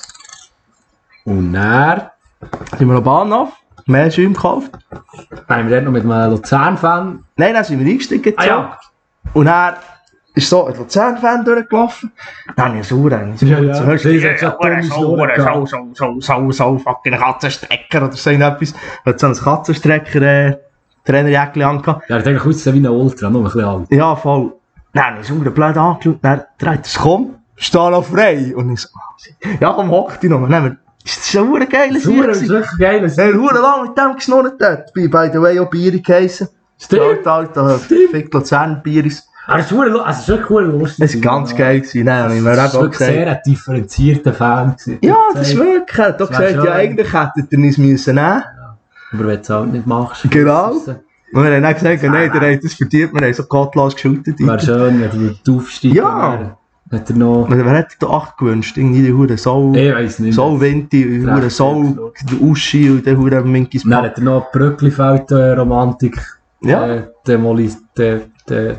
Und dann sind wir noch Bahnhof, mehr Schäume gekauft. Haben wir dort noch mit einem Luzern-Fan? Nein, dann sind wir eingestiegen. Ah, ja. Und dann ist so ein Luzern-Fan durchgelaufen. Dann habe ich Sauer. Ja, ja. So, hörst du, Das ist ja dumme Schnurren so, so, so, so, so, fucking Katzenstrecker oder so etwas. Er hat so einen Katzenstrecker äh, Trainerjäckchen angehabt. Ja, er hat eigentlich ausgesehen wie ein Ultra, nur ein bisschen alt. Ja, voll. Dann habe ich Sauer blöd angeschaut. Dann dreht es, komm, steh noch frei. Und ich so, ja, komm, hock dich noch. Dann das war ein geiles Sauer ist wirklich geil. Er hat verdammt lang mit dem geschnurrt dort. By the way auch Bieri geheissen. Stimmt. Alter, Fick Luzern Bieris. Aber es war wirklich lustig. Es war ganz geil. Nein, nein, ich mir auch gesagt. Sehr ein differenzierter Fan. Ja, das ist wirklich. Er hat gesagt, ja, eigentlich hättet ihr uns müssen nehmen. Aber wenn du es halt nicht machst. Genau. Und wir haben dann gesagt, nein, der hat das verdient. Wir haben so gottlos geschultet. Wäre schön, wenn du aufsteigst. Ja. Hat er noch... Wer hat da acht gewünscht? Irgendwie die Hure Sau... Ich weiss nicht. Sau Winti, Hure Sau, Uschi und der Hure Minkis Dann hat er noch Brücklifeld-Romantik. Ja. Äh, Demolis... De, de,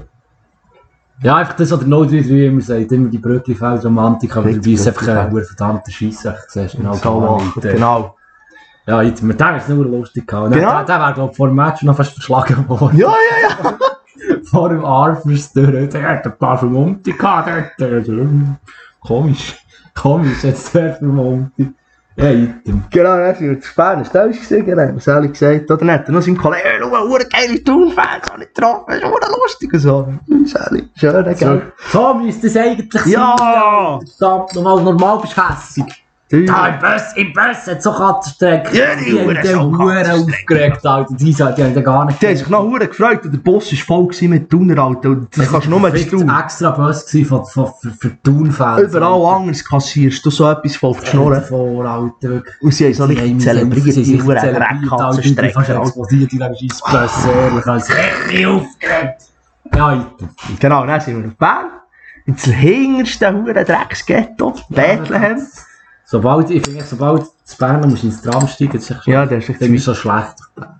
ja, einfach das, was der null drei drei immer sagt. Immer die Brücklifeld-Romantik. Aber dabei ist es einfach ein verdammter Scheissach. Siehst du, genau. So, genau. Ja, jetzt, mit dem ist es nur lustig gehabt. Genau. Der, der wäre, glaube ich, vor dem Match noch fast verschlagen worden. Ja, ja, ja. Vor dem Arfers durch, der hat ein paar Vermummte gehabt. Der, der, komisch, komisch, jetzt der Vermummte. Ja, item. Genau, dann sind wir zu Bern, ist das gesehen, genau, was habe ich gesagt? Oder dann hat er noch seinen Kollegen, hey, schau, hure geile Thun-Fans, habe ich getroffen, das ist hure lustig und so. Sally, schön, gell? So müsste es eigentlich Ja. sein. Verdammt, normal, normal bist du hässig. Da im Bus, im Bus hat so Katzenstrecken. Ja, die haben Huren den so Huren Katzenstrecken. aufgeregt, Alter. Die, die haben den gar nicht Die haben sich noch hure gefreut und der Bus war voll mit Thuner, Alter. Und das kannst du nur mit Es war Thun. ein extra Bus gewesen von, von, für, für Thun-Fans. Überall anders kassierst du so etwas voll geschnurren. Vor, Alter, wirklich. Und sie haben so nicht zelebriert, die hure Die fast Dreckkatzenstrecken. explodiert in diesem Scheissbus, ehrlich. Also richtig aufgeregt. Ja, Alter. Genau, dann sind wir auf Bern. Ins hinterste hure Drecksghetto, Bethlehem. Sobald, ich finde, sobald zu Bern musst du ins Tram steigen, das ist echt Ja, der ist echt dann ist so schlecht.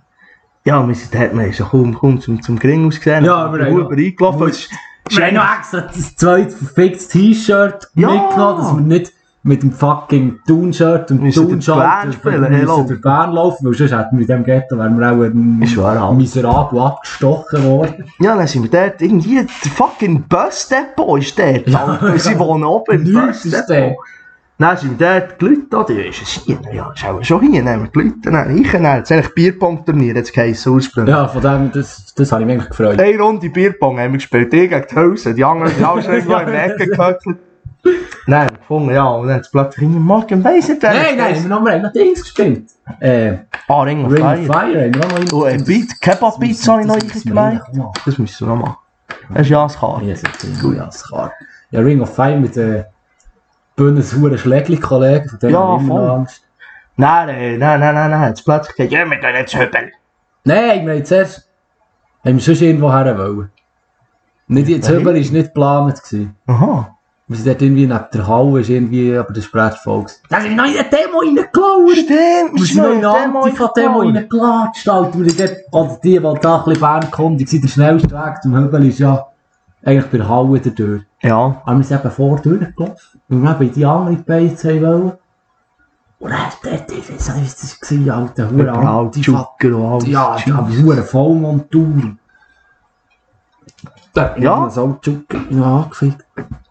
Ja, wir sind, hat man so kaum, kaum zum, zum Gring ausgesehen. Ja, wir haben Huber eingelaufen. Es ist- Wir haben noch extra das zweite verficktes T-Shirt Ja. mitgenommen, dass wir nicht mit dem fucking Thun-Shirt und Müssen durch Thun-Shirt Bern spielen, hello. müssen durch Bern laufen, weil sonst hätten wir in diesem Ghetto wären wir auch ein Ist wahr, Alter. miserabel abgestochen worden. Ja, dann sind wir dort, irgendwie, der fucking Busdepot ist dort. Ja, Alter. Sie ja. wohnen oben im Nichts ist Busdepot. Dann sind wir dort gelitten, oder? Ja, ist es hier? Ja, ist auch schon hier. Dann haben wir gelitten, dann ich, dann hat es eigentlich Bierpong-Turnier, jetzt geheissen, ursprünglich. Ja, von dem, das, das habe ich mich eigentlich gefreut. Eine Runde Bierpong haben wir gespielt, ich gegen die Hälse, die anderen sind alle schon irgendwo in der Ecke gehöckelt. Nein, gefunden, ja, und dann hat es plötzlich in Morgen weiss nicht, wer Nein, nein, wir haben noch, noch Dings gespielt. Äh, ah, Ring of Ring Fire. of Fire haben wir auch noch Oh, ein Beat, Kebab-Pizza habe ich noch eingemeint. Das müssen wir noch machen. Das ist Jaskar. Ja, das ist ein Jaskar. Ja, Ring of Fire mit den Bündnis Huren Schlägli-Kollegen, von denen Ja, habe ich immer voll. noch Angst. Nein, nein, nein, nein, nein, nein, jetzt plötzlich gesagt, ja, wir gehen jetzt hübeln. Nein, wir haben zuerst... Haben wir sonst irgendwo her wollen. Nicht, das Wohin? Hübel war nicht geplant. gewesen. Aha. Wir sind dort irgendwie neben der Halle, ist irgendwie, aber das war voll. Da sind wir noch in eine Demo reingelaufen. Stimmt, Wir sind noch in eine Antifa-Demo reingelatscht, Alter. Wir sind dort, oder die, die da ein bisschen Bernkundig sind, der schnellste Weg zum Hübel ist ja eigentlich bei der Halle durch. Ja. Aber wir sind eben vor durchgelaufen, weil wir eben in die andere Beiz haben wollen. Und dann dort, ich weiß nicht, wie das war, Alter, hure Antifa. Zucker und alles. Ja, da habe ich hure Vollmontur. Da Ja. so Zucker angefickt.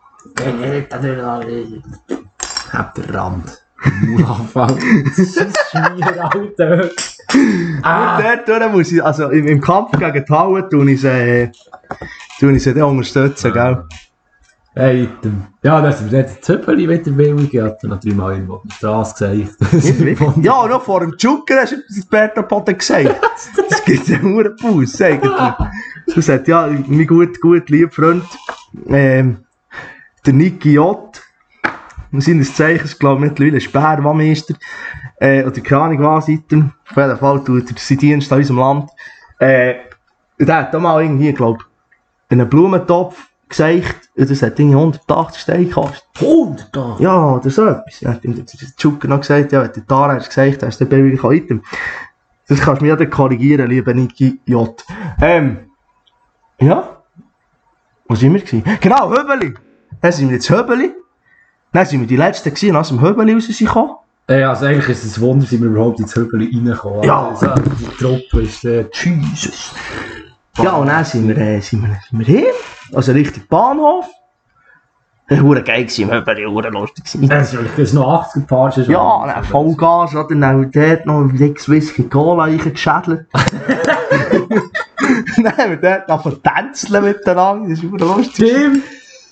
Hab den Rand. Maulanfall. Schmier, Alter. Ah. Dort durch muss ich, also im, im Kampf gegen die Halle tue ich sie, äh, tue ich sie dann unterstützen, gell? Hey, ja, das ist jetzt Zöppeli wieder willig. Ich hatte noch dreimal irgendwo auf der Straße gesagt. Ja, noch vor dem Zucker hast du das Berto Potter gesagt. Das gibt ja nur einen Bus, eigentlich. So sagt, ja, mein gut, gut, lieber Freund, ähm, der Niki J. Seines Zeichens, glaube ich, mittlerweile Sperrmeister. Äh, oder keine Ahnung was, seitdem. Auf jeden Fall tut er seinen Dienst an unserem Land. Äh, der hat da mal irgendwie, glaube ich, einen Blumentopf gesagt, das hat irgendwie hundertachtzig Steine gekostet. hundert da! Ja, oder so etwas. Ja, der Zucker noch gesagt, ja, wenn der Tara hat gesagt, hast du den billigen Item. Das kannst du mir ja dann korrigieren, lieber Niki J. Ähm, ja. Wo sind wir gewesen? Genau, Höbeli. Dann sind wir jetzt Höbeli. Dann sind wir die Letzten gewesen, aus dem Höbeli rausgekommen. Ja, also eigentlich ist es ein Wunder, dass wir überhaupt ins Höbeli reinkommen. Ja. Also, die Truppe ist der Jesus. Ja, und dann sind wir, äh, sind wir, sind wir hin. Also Richtung Bahnhof. Das war geil im Höbeli, hure lustig. Das ist noch achtzig Paar. Ja, dann Vollgas, oder? Dann dort noch ein dickes Whisky Cola reingeschädelt. Dann haben wir dort noch vertänzeln miteinander, das ist hure lustig. Stimmt!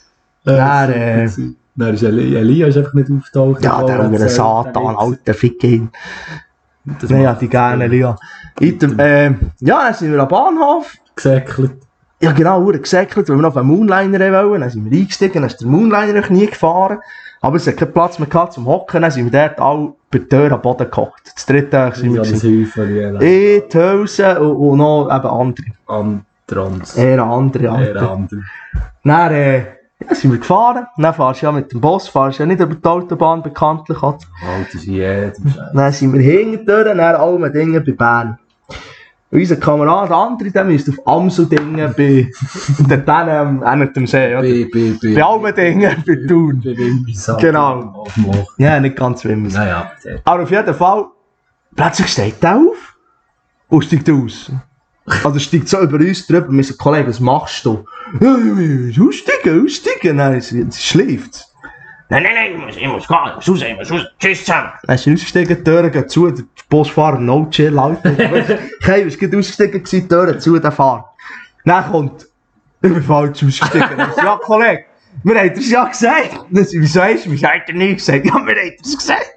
Dann, äh, Dann ist Eli- Elias einfach nicht auftaucht. ja, der untere Satan, alter Fick hin. Nein, ja, die gerne Elia. Item, äh, ja, dann sind wir am Bahnhof. Gesäckelt. Ja genau, hure gesäckelt, weil wir noch auf einen Moonliner wollen. Dann sind wir eingestiegen, dann ist der Moonliner noch nie gefahren. Aber es hat keinen Platz mehr gehabt zum Hocken, dann sind wir dort alle bei der Tür am Boden gekocht. Das dritte Tag sind wir Das gewesen. Häufchen. Ich, die Hülse und, und noch eben andere. Antrans. Eher andere, Eher andere. andere. Dann äh, ja, sind wir gefahren. Dann fahrst du ja mit dem Bus, fahrst ja nicht über die Autobahn bekanntlich. Also. Alter, ist jedem Scheiß. Dann sind wir hinterher, dann alle Dinge bei Bern. Und unser Kamerad, der andere, der müsste auf Amsel-Dingen bei dort hinten an dem See, oder? Bei, bei, bei. Bei allen Dingen bei Thun. Bei Wimmisat. Genau. Auf dem Loch. Ja, nicht ganz Wimmis. Naja, Aber auf jeden Fall, plötzlich steigt er auf und steigt aus. Also steigt so über uns drüber, wir sagen, Kollege, was machst du? Ja, aussteigen, aussteigen. Nein, sie schläft. Nein, nein, nein, ich muss, ich muss gehen, ich muss raus, ich muss raus, tschüss zusammen. Dann ist er ausgestiegen, die Türen gehen zu, der Busfahrer no chill, Alter. Kein, ist gerade ausgestiegen, die Türen zu, der Fahrer. Dann kommt, ich bin falsch ausgestiegen. Dann sagt, ja, Kollege, wir haben das ja gesagt. Dann sagt, wieso hast du mich eigentlich nicht gesagt? Ja, wir haben das gesagt.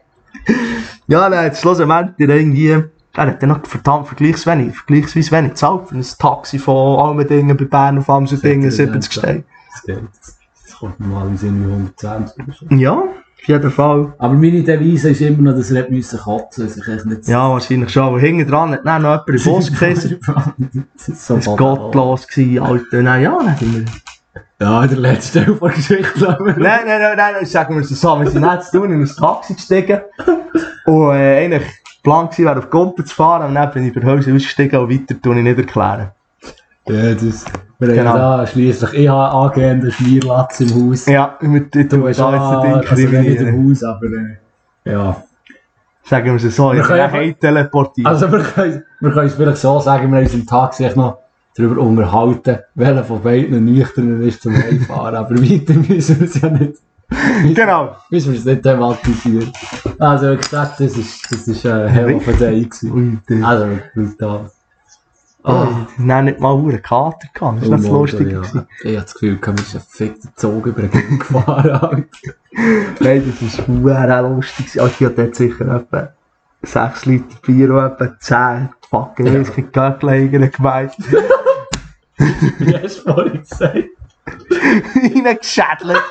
Ja, dann hat es schlussendlich irgendwie, er hat dann noch verdammt vergleichsweise, vergleichsweise wenig gezahlt für ein Taxi von Almendingen bei Bern auf Amsel-Dingen, siebzig Steine. Das geht. Das kommt normalerweise in hundertzwanzig oder so. Ja, auf jeden Fall. Aber meine Devise ist immer noch, dass er nicht kotzen musste. Also nicht Ja, wahrscheinlich schon. Aber hinten dran hat dann noch jemand in den Bus gekissen. Das ist so Das war gottlos, gewesen, Alter. Nein, ja, dann sind wir... Ja, der letzte Teil der Geschichte, glaube ich. Nein, nein, nein, nein, sagen wir es so. Wir sind jetzt tun in ein Taxi gestiegen. Und äh, eigentlich Plan war, wäre auf Gumpen zu fahren. Und dann bin ich bei Hause ausgestiegen und weiter tue ich nicht erklären. Ja, das... Wir Genau. haben da schliesslich, ich habe angehenden Schmierlatz im Haus. Ja, mit dem Du hast da auch, jetzt also den Ding nicht kriminieren. im Haus, aber äh, ja. Sagen wir es so, ich Wir bin können- heim teleportiert. Also wir können, wir können es vielleicht so sagen, wir haben uns im Tag sich noch darüber unterhalten, welcher von beiden nüchtern ist zum Heimfahren, aber weiter müssen wir es ja nicht. Genau. Müssen wir es nicht thematisieren. Also, wie gesagt, das ist, das ist ein hell of a day gewesen. Ui, Also, brutal. oh, ich habe nicht mal einen Kater gehabt. Das war nicht so lustig. Ja. Ich habe das Gefühl, ich habe einen fickten Zug über den Gang gefahren. Nein, das war sehr lustig. Also, ich hatte dort sicher etwa sechs Liter Bier und etwa zehn fucking Whisky Göcklein gemeint. Wie hast du vorhin gesagt? Reingeschädelt.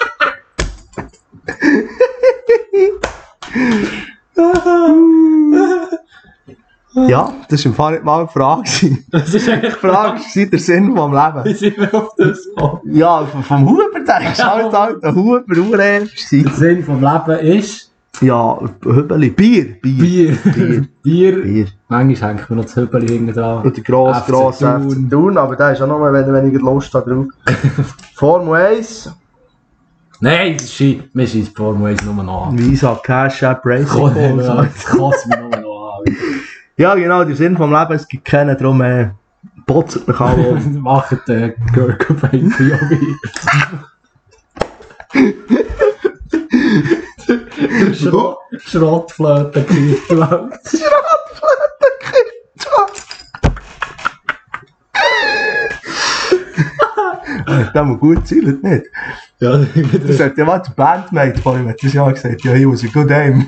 Ja, das war im Fall nicht mal eine Frage. Das ist eigentlich Die Frage war der Sinn vom Leben. Wie sind wir auf das gekommen? Ja, vom Huber, denkst du, halt halt ein Huber, Urernst Der sein. Sinn vom Leben ist... Ja, Hübeli, Bier, Bier, Bier. Bier, Bier. Bier. Manchmal hängt mir noch das Hübeli hinten dran. Und der grosse, F C grosse F Thun. C Thun, aber der ist auch noch mal, wenn weniger Lust hat drauf. Formel eins, Nein, das ist Ski. Wir schießen Formel eins nur noch an. Visa, Cash App, Racing. Komm, Balls. ja, das kotzt mich nur noch an. Ja, genau, der Sinn vom Leben, es gibt keinen, darum äh, botzet mich alle um. Macht den Gurkenbein für Jobi. Schrott, Schrottflöte gekriegt, du Welt. Das muss gut sein, nicht? Ja, Das sagt ja mal der Bandmate von ihm, hat das Jahr gesagt, ja, he was a good aim.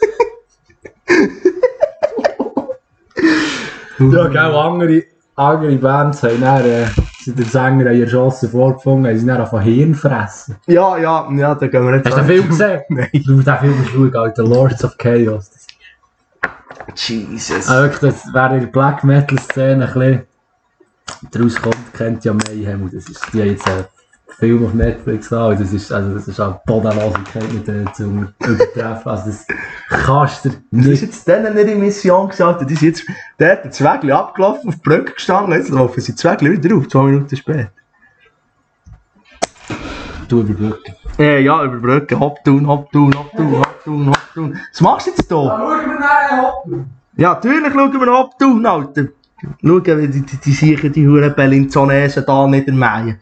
ja, gell, andere, andere Bands haben dann, äh, sind der Sänger an ihrer Chance vorgefunden, haben sie dann von Hirn fressen. Ja, ja, ja, da gehen wir nicht Hast du den Film gesehen? Nein. Du musst den Film schauen, Alter, Lords of Chaos. Jesus. Also wirklich, das, wer in der Black Metal Szene ein bisschen daraus kommt, kennt ja Mayhem. Und das ist, die haben jetzt einen Film auf Netflix an. Und das ist, also das ist auch Bodenlosigkeit mit denen zu übertreffen. Also das kannst du Das nicht. ist jetzt denen nicht in Mission gesagt, die sind jetzt, der hat das Wägli abgelaufen, auf die Brücke gestanden, jetzt laufen sie das Wägli wieder auf, zwei Minuten später. Du überbrücken. Äh, ja, über Brücke, Hoptun, Hoptun, Hoptun, Hoptun, Hoptun. Was machst du jetzt hier? schauen wir nachher Hoppen. Ja, natürlich schauen wir Hoptun, Alter. Schauen, wie die, die, die sicher die Huren Bellinzonesen da niedermähen.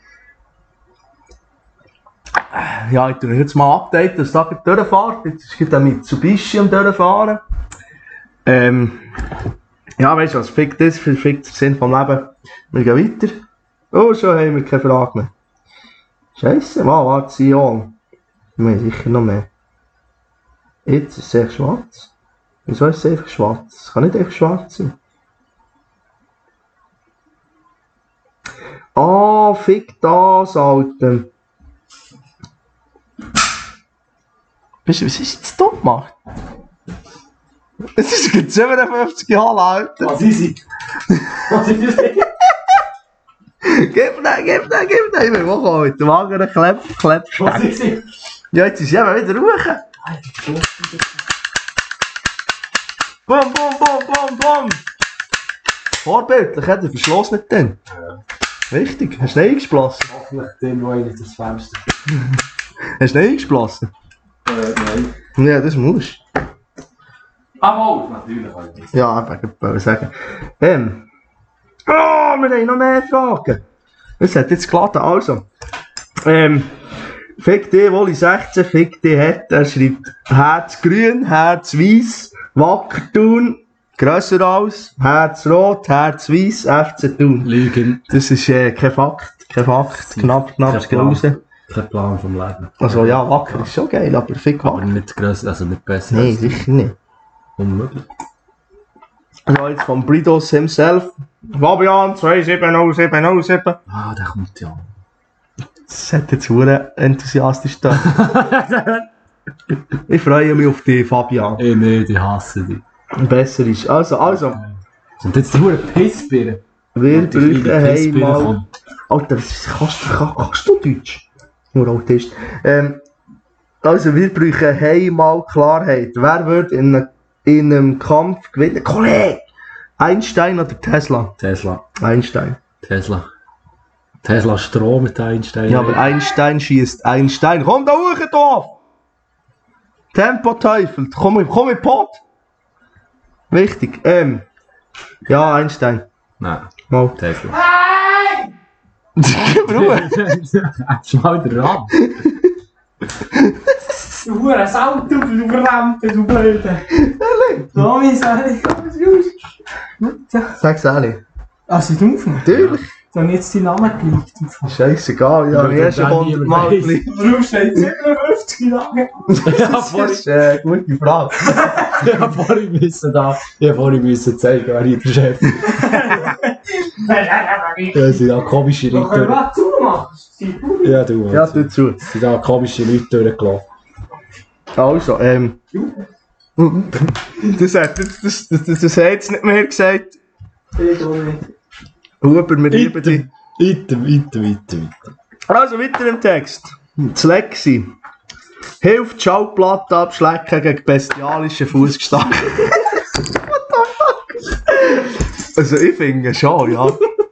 Ja, ich tue euch jetzt mal updaten, dass da durchfahrt. Jetzt ist der Mitsubishi am durchfahren. Ähm, ja, weißt du was, fickt das, fickt der Sinn vom Leben. Wir gehen weiter. Oh, schon haben wir keine Frage mehr. Scheisse, wow, warte, Sion. Wir haben sicher noch mehr. Jetzt ist es echt schwarz. Wieso ist es einfach schwarz? Es kann nicht einfach schwarz sein. Ah, oh, fick das, Alter. Weißt du, was ist jetzt da gemacht? Es ist jetzt siebenundfünfzig Jahre alt. Was ist sie? Was ist sie? Gib den, gib den, gib den. Ich will machen mit dem anderen Klepp, Klepp, Was ist sie? Ja, jetzt ist sie eben wieder ruhig. Bum, bum, bum, bum, bum. Vorbildlich, hat der Verschluss nicht drin. Ja. Richtig, hast du nicht eingesplossen? Hoffentlich den, wo ich das Fenster. Hast du nicht eingesplossen? Äh, nein. Ja, das musst du. Ah, mal, natürlich. Ja, ich wollte sagen. Ähm. Oh, wir haben noch mehr Fragen. Es hat jetzt geladen, also. Ähm. Fick die, Woli sechzehn, fick die hat. Er schreibt Herz grün, Herz weiß, Wacker Thun, grösser als, Herz rot, Herz weiß, F C Thun. Lügen. Das ist äh, kein Fakt, kein Fakt, knapp, knapp, es geht raus. Kein Plan vom Leben. Also ja, Wacker ist schon geil, aber fick Aber Wacker. nicht grösser, also nicht besser. Nein, als- sicher nicht. Unmöglich. Also jetzt von Bridos himself. Fabian zwei sieben null sieben null sieben. Ah, der kommt ja. Das hat jetzt verdammt enthusiastisch da. Ich freue mich auf dich, Fabian. Eh, nee, die hassen dich. Besser ist. Also, also, Und jetzt die hure Pissbirne. wir Die kleine brauchen Pissbirne einmal. kommt. Alter, das- kannst, du- kann- kannst du Deutsch? Nur Autist. Ähm, also, wir brauchen einmal Klarheit. Wer wird in, einem- in einem Kampf gewinnen? Kollege! Einstein oder Tesla? Tesla. Einstein. Tesla. Tesla Strom mit Einstein. Ja, aber Einstein schießt Einstein. Komm da hoch, Dorf! Tempo-Teufel, komm, komm in den Pot! Wichtig, ähm. Ja, Einstein. Nein, Mal. Tesla. Gib Ruhe! Hast du mal den Rand? Du Hure Salto, du Verdammte, du Blöde. Tommy, sag ich, was ist? Sag's ehrlich. Ah, sie drauf? Natürlich. Da haben jetzt deinen Namen geleakt. Scheißegal, ja, ich habe schon hundert Mal geleakt. Warum steht siebenundfünfzig Jahre? Das ist eine gute Frage. Ich habe vorhin müssen da, ich habe vorhin müssen zeigen, wer hier der Chef ist. Ja, sind da komische Doch, können wir Leute. was zumachen? Ja, du. Ja, tu zu. Sind da komische Leute durchgelaufen. Also, ähm... Das hat das, das, das, das, das hat jetzt nicht mehr gesagt. Ich auch nicht. Huber, wir lieben dich. Weiter, weiter, weiter, weiter. Also, weiter im Text. Das Lexi. Hilft die Schallplatte abschlecken gegen bestialischen Fußgestank. What the fuck? Also, ich finde schon, ja.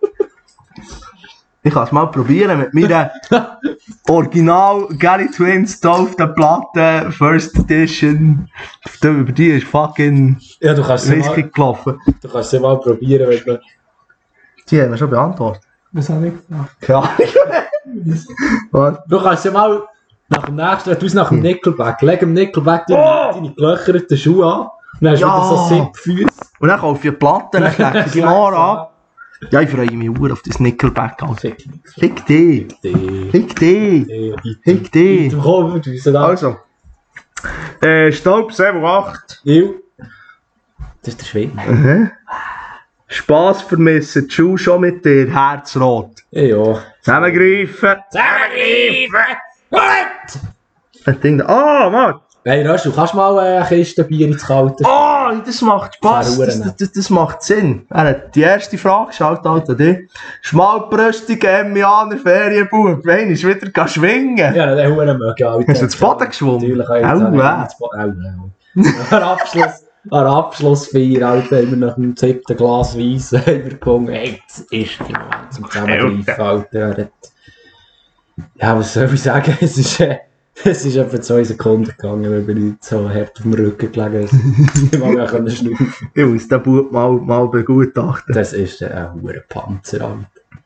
Ich kann es mal probieren mit meiner Original Gary Twins tauften Platte, First Edition. Über die ist fucking Ja, du kannst es Whisky mal, gelaufen. du kannst es mal probieren, wenn du... Die haben wir schon beantwortet. Was habe ich gemacht? Ja. Was? Du kannst ja mal nach dem nächsten, du nach dem Nickelback, leg dem Nickelback deine, Oh! deine gelöcherten Schuhe an. Dann hast du Ja! wieder so Sippfüße. Und dann kaufe ich eine Platte, dann klecke ich die Haare an. Ja, ich freue mich sehr auf das Nickelback. Alter. Fick dich. Fick dich! Die. Fick dich! Die. Fick dich! Komm, du bist da. Also. Äh, Staub sieben acht. Il. Das ist der Schwede. Mhm. Spass vermissen, die Schuhe schon mit dir, Herzrot. Ja. Zusammengreifen! Zusammengreifen! Gut! Das Ding da. Ah, Mann! Hey, Rösch, du kannst mal eine Kiste Bier ins Kalte. Ah, das macht Spaß. Fahren Das, das, das, das macht Sinn. Äh, Die erste Frage, schaut halt an dich. Schmalbrüstiger Emmianer Ferienbub, wenn ich wieder gehen schwingen. Ja, den Huren mögen alle. Hast du ins Boden geschwommen? Natürlich. Au, Au, äh. au. An Abschluss, an Abschlussfeier, Alter, haben wir nach dem siebten Glas Weiss übergekommen. Hey, jetzt ist die Moment zum Zusammengreifen, Alter. Ja, was soll ich sagen? Es ist, äh, es ist etwa zwei Sekunden gegangen, weil wir nicht so hart auf dem Rücken gelegen sind. Ich mag mich auch schnaufen. Ich muss den Bub mal, mal begutachten. Das ist ein hoher Panzer, Alter.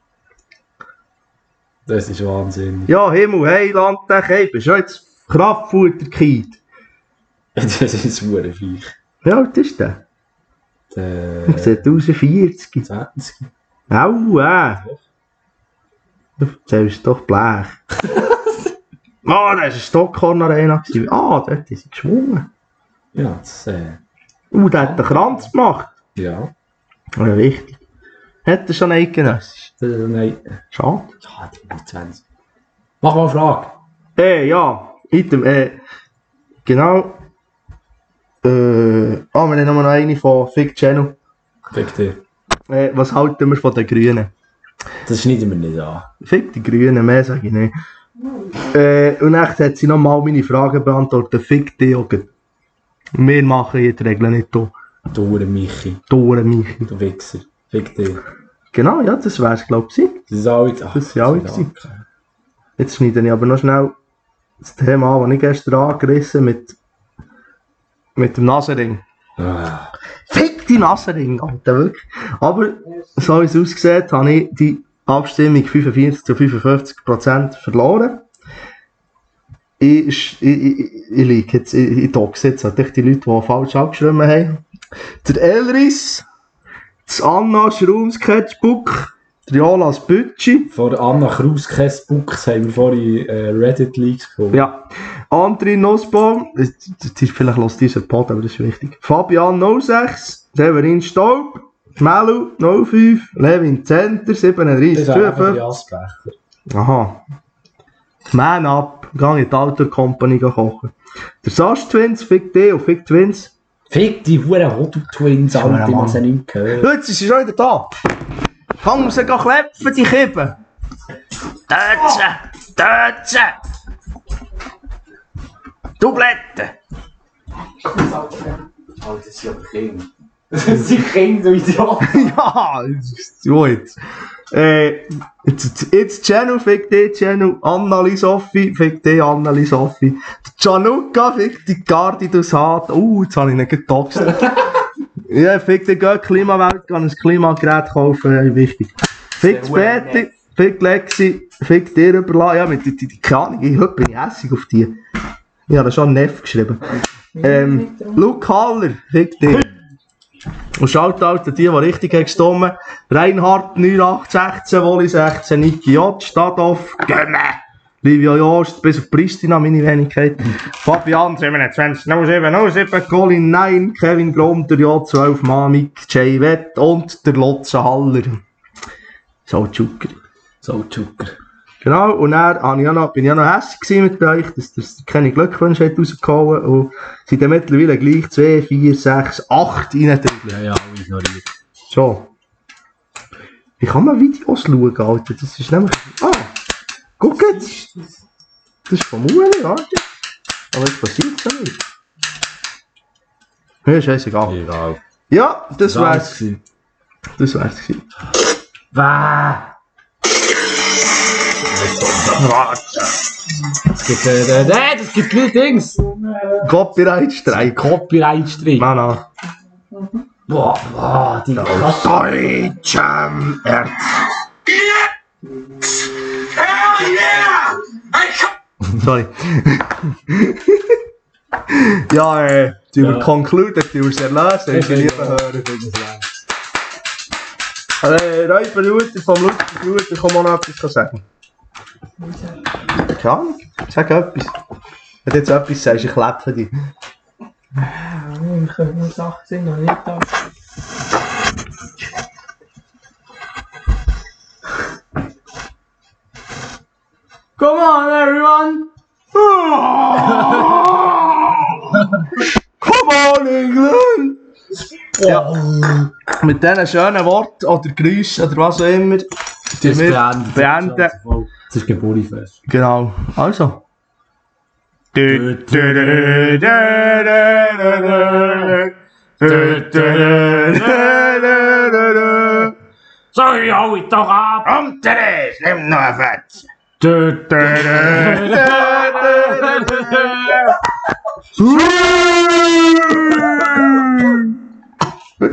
Das ist Wahnsinn. Ja, Himmel, hey, Landtech, hey, bist du jetzt Kraftfutter-Kind? Das ist ein hoher Viech. Wie alt ist der? Der Ich sehe aus wie vierzig. zwanzig. Au, äh. Du erzählst doch Blech. Ah, das war eine Stockhorn-Arena. Ah, dort ist sie geschwungen. Ja, das, äh, Uh, der hat den Kranz gemacht. ja. Ja, wichtig. Hat er schon eidgenössisch? Das, nein. Schade. Ja, die sind zwanzig. Mach mal eine Frage. Äh, ja. Item, äh. Genau. Äh. Ah, wir haben noch eine von Fick Channel. Fick dich. Äh, was halten wir von den Grünen? Das schneiden wir nicht an. Fick die Grünen, mehr sage ich nicht. Äh, und echt hat sie nochmal meine Fragen beantwortet. Fick die auch. Wir machen hier die Regeln nicht hier. Du Hure Michi. Tore Michi. Du Wichser. Fick dich. Genau, ja, das wär's, glaube ich. Das ist alle... Ach, Das sind alle gewesen. Jetzt schneide ich aber noch schnell das Thema an, das ich gestern angerissen mit, mit dem Nasenring. Ah. Fick die Nasenring, Alter, wirklich. Aber so wie es aussieht, habe ich die Abstimmung fünfundvierzig zu fünfundfünfzig Prozent verloren. Ich, ich, ich, ich liege jetzt, ich, ich doxe jetzt halt die Leute, die falsch abgeschrieben haben. Der Elris, das Anna Schraum Sketchbook, der Jolas Bütschi, Von Anna Kraus Kessbuchs haben wir vorhin äh, Reddit-Leaks gefunden. ja, André Nussbaum, das, das ist vielleicht los dieser Pod, aber das ist wichtig. Fabian null sechs, Severin Staub, Melu null fünf, Levin Zenter siebenunddreißig Das ist einfach die fünfundfünfzig. Asbecher. Aha. Man up, gang in die Alter Company kochen. Der Sash Twins, Fick D und Fick Twins. Fick die Hure Hodu-Twins, Schöner Alter, die Mann. man sie nicht gehört. Jetzt ist sie schon wieder da. Kann sie gehen klepfen, die Kippen. Tötze, tötze. Dublette. Alter, das ist ja Kinder. Das sind Kinder, du Idiot. Ja, so jetzt. Äh, jetzt, jetzt Channel, Fick D, Channel, Annali Sophie, Fick D, Annali Sophie. Gianluca, Fick die Gardi durchs Hart. Uh, jetzt habe ich nicht getoxt. Ja, Fick D, geh Klimawelt, kann ein Klimagerät kaufen, äh, wichtig. Fick die Betty, fick Lexi, fick dir überlassen. Ja, mit die, die, die keine Ahnung, ich, heute bin ich hässig auf die. Ich habe da schon einen Neff geschrieben. Ähm, Luke Haller, fick dir. Und Shoutout an die, die richtig haben gestimmt. Reinhard neun acht sechzehn, Woli sechzehn, Niki J, Stadhoff, Gömme. Livia Jost, bis auf Pristina, meine Wenigkeit. Fabian siebenundzwanzig null sieben null sieben, Colin neun, Kevin Grom, der J zwölf, Mamik, Jay Wett und der Lotze Haller. So Zucker. So Zucker. Genau, und dann war ich auch noch, bin ich auch noch hässlich mit euch, dass ihr keine Glückwünsche rausgehauen habt. Und sind dann mittlerweile gleich zwei, vier, sechs, acht reindrücken. Ja, ja, ignoriert. So. Wie kann man Videos schauen, Alter? Das ist nämlich... Ah! Guck jetzt! Das ist vom Ueli, warte. Aber es passiert so nicht. Ja, scheißegal. Egal. Ja, das wär's. Das wär's gewesen. Wah! Es gibt, äh, äh, das gibt gleich Dings. Copyright-Streik. Copyright-Streik. Nein, nein. Boah, boah, die Deutschem Erz. Sorry. Ja, äh, die Ja. ja. concluded, die uns erlösen, Ich ich will will lieber hören. Äh, Räuber Luther vom Luther Luther, kann man noch etwas sagen? Keine Ahnung, sag etwas. Wenn du jetzt etwas sagst, ich klebe dich. Wir können nur Sachen sind noch nicht da. Come on, everyone! Come on, England! Ja, mit diesen schönen Worten oder Geräuschen oder was auch immer, die wir beendet. beenden. Das ist Geburtstagsfest. Genau, also. So, ich hau ich doch ab! Komm, Therese, nimm noch ein Fett. Dö, dö, dö, dö, dö, dö, dö.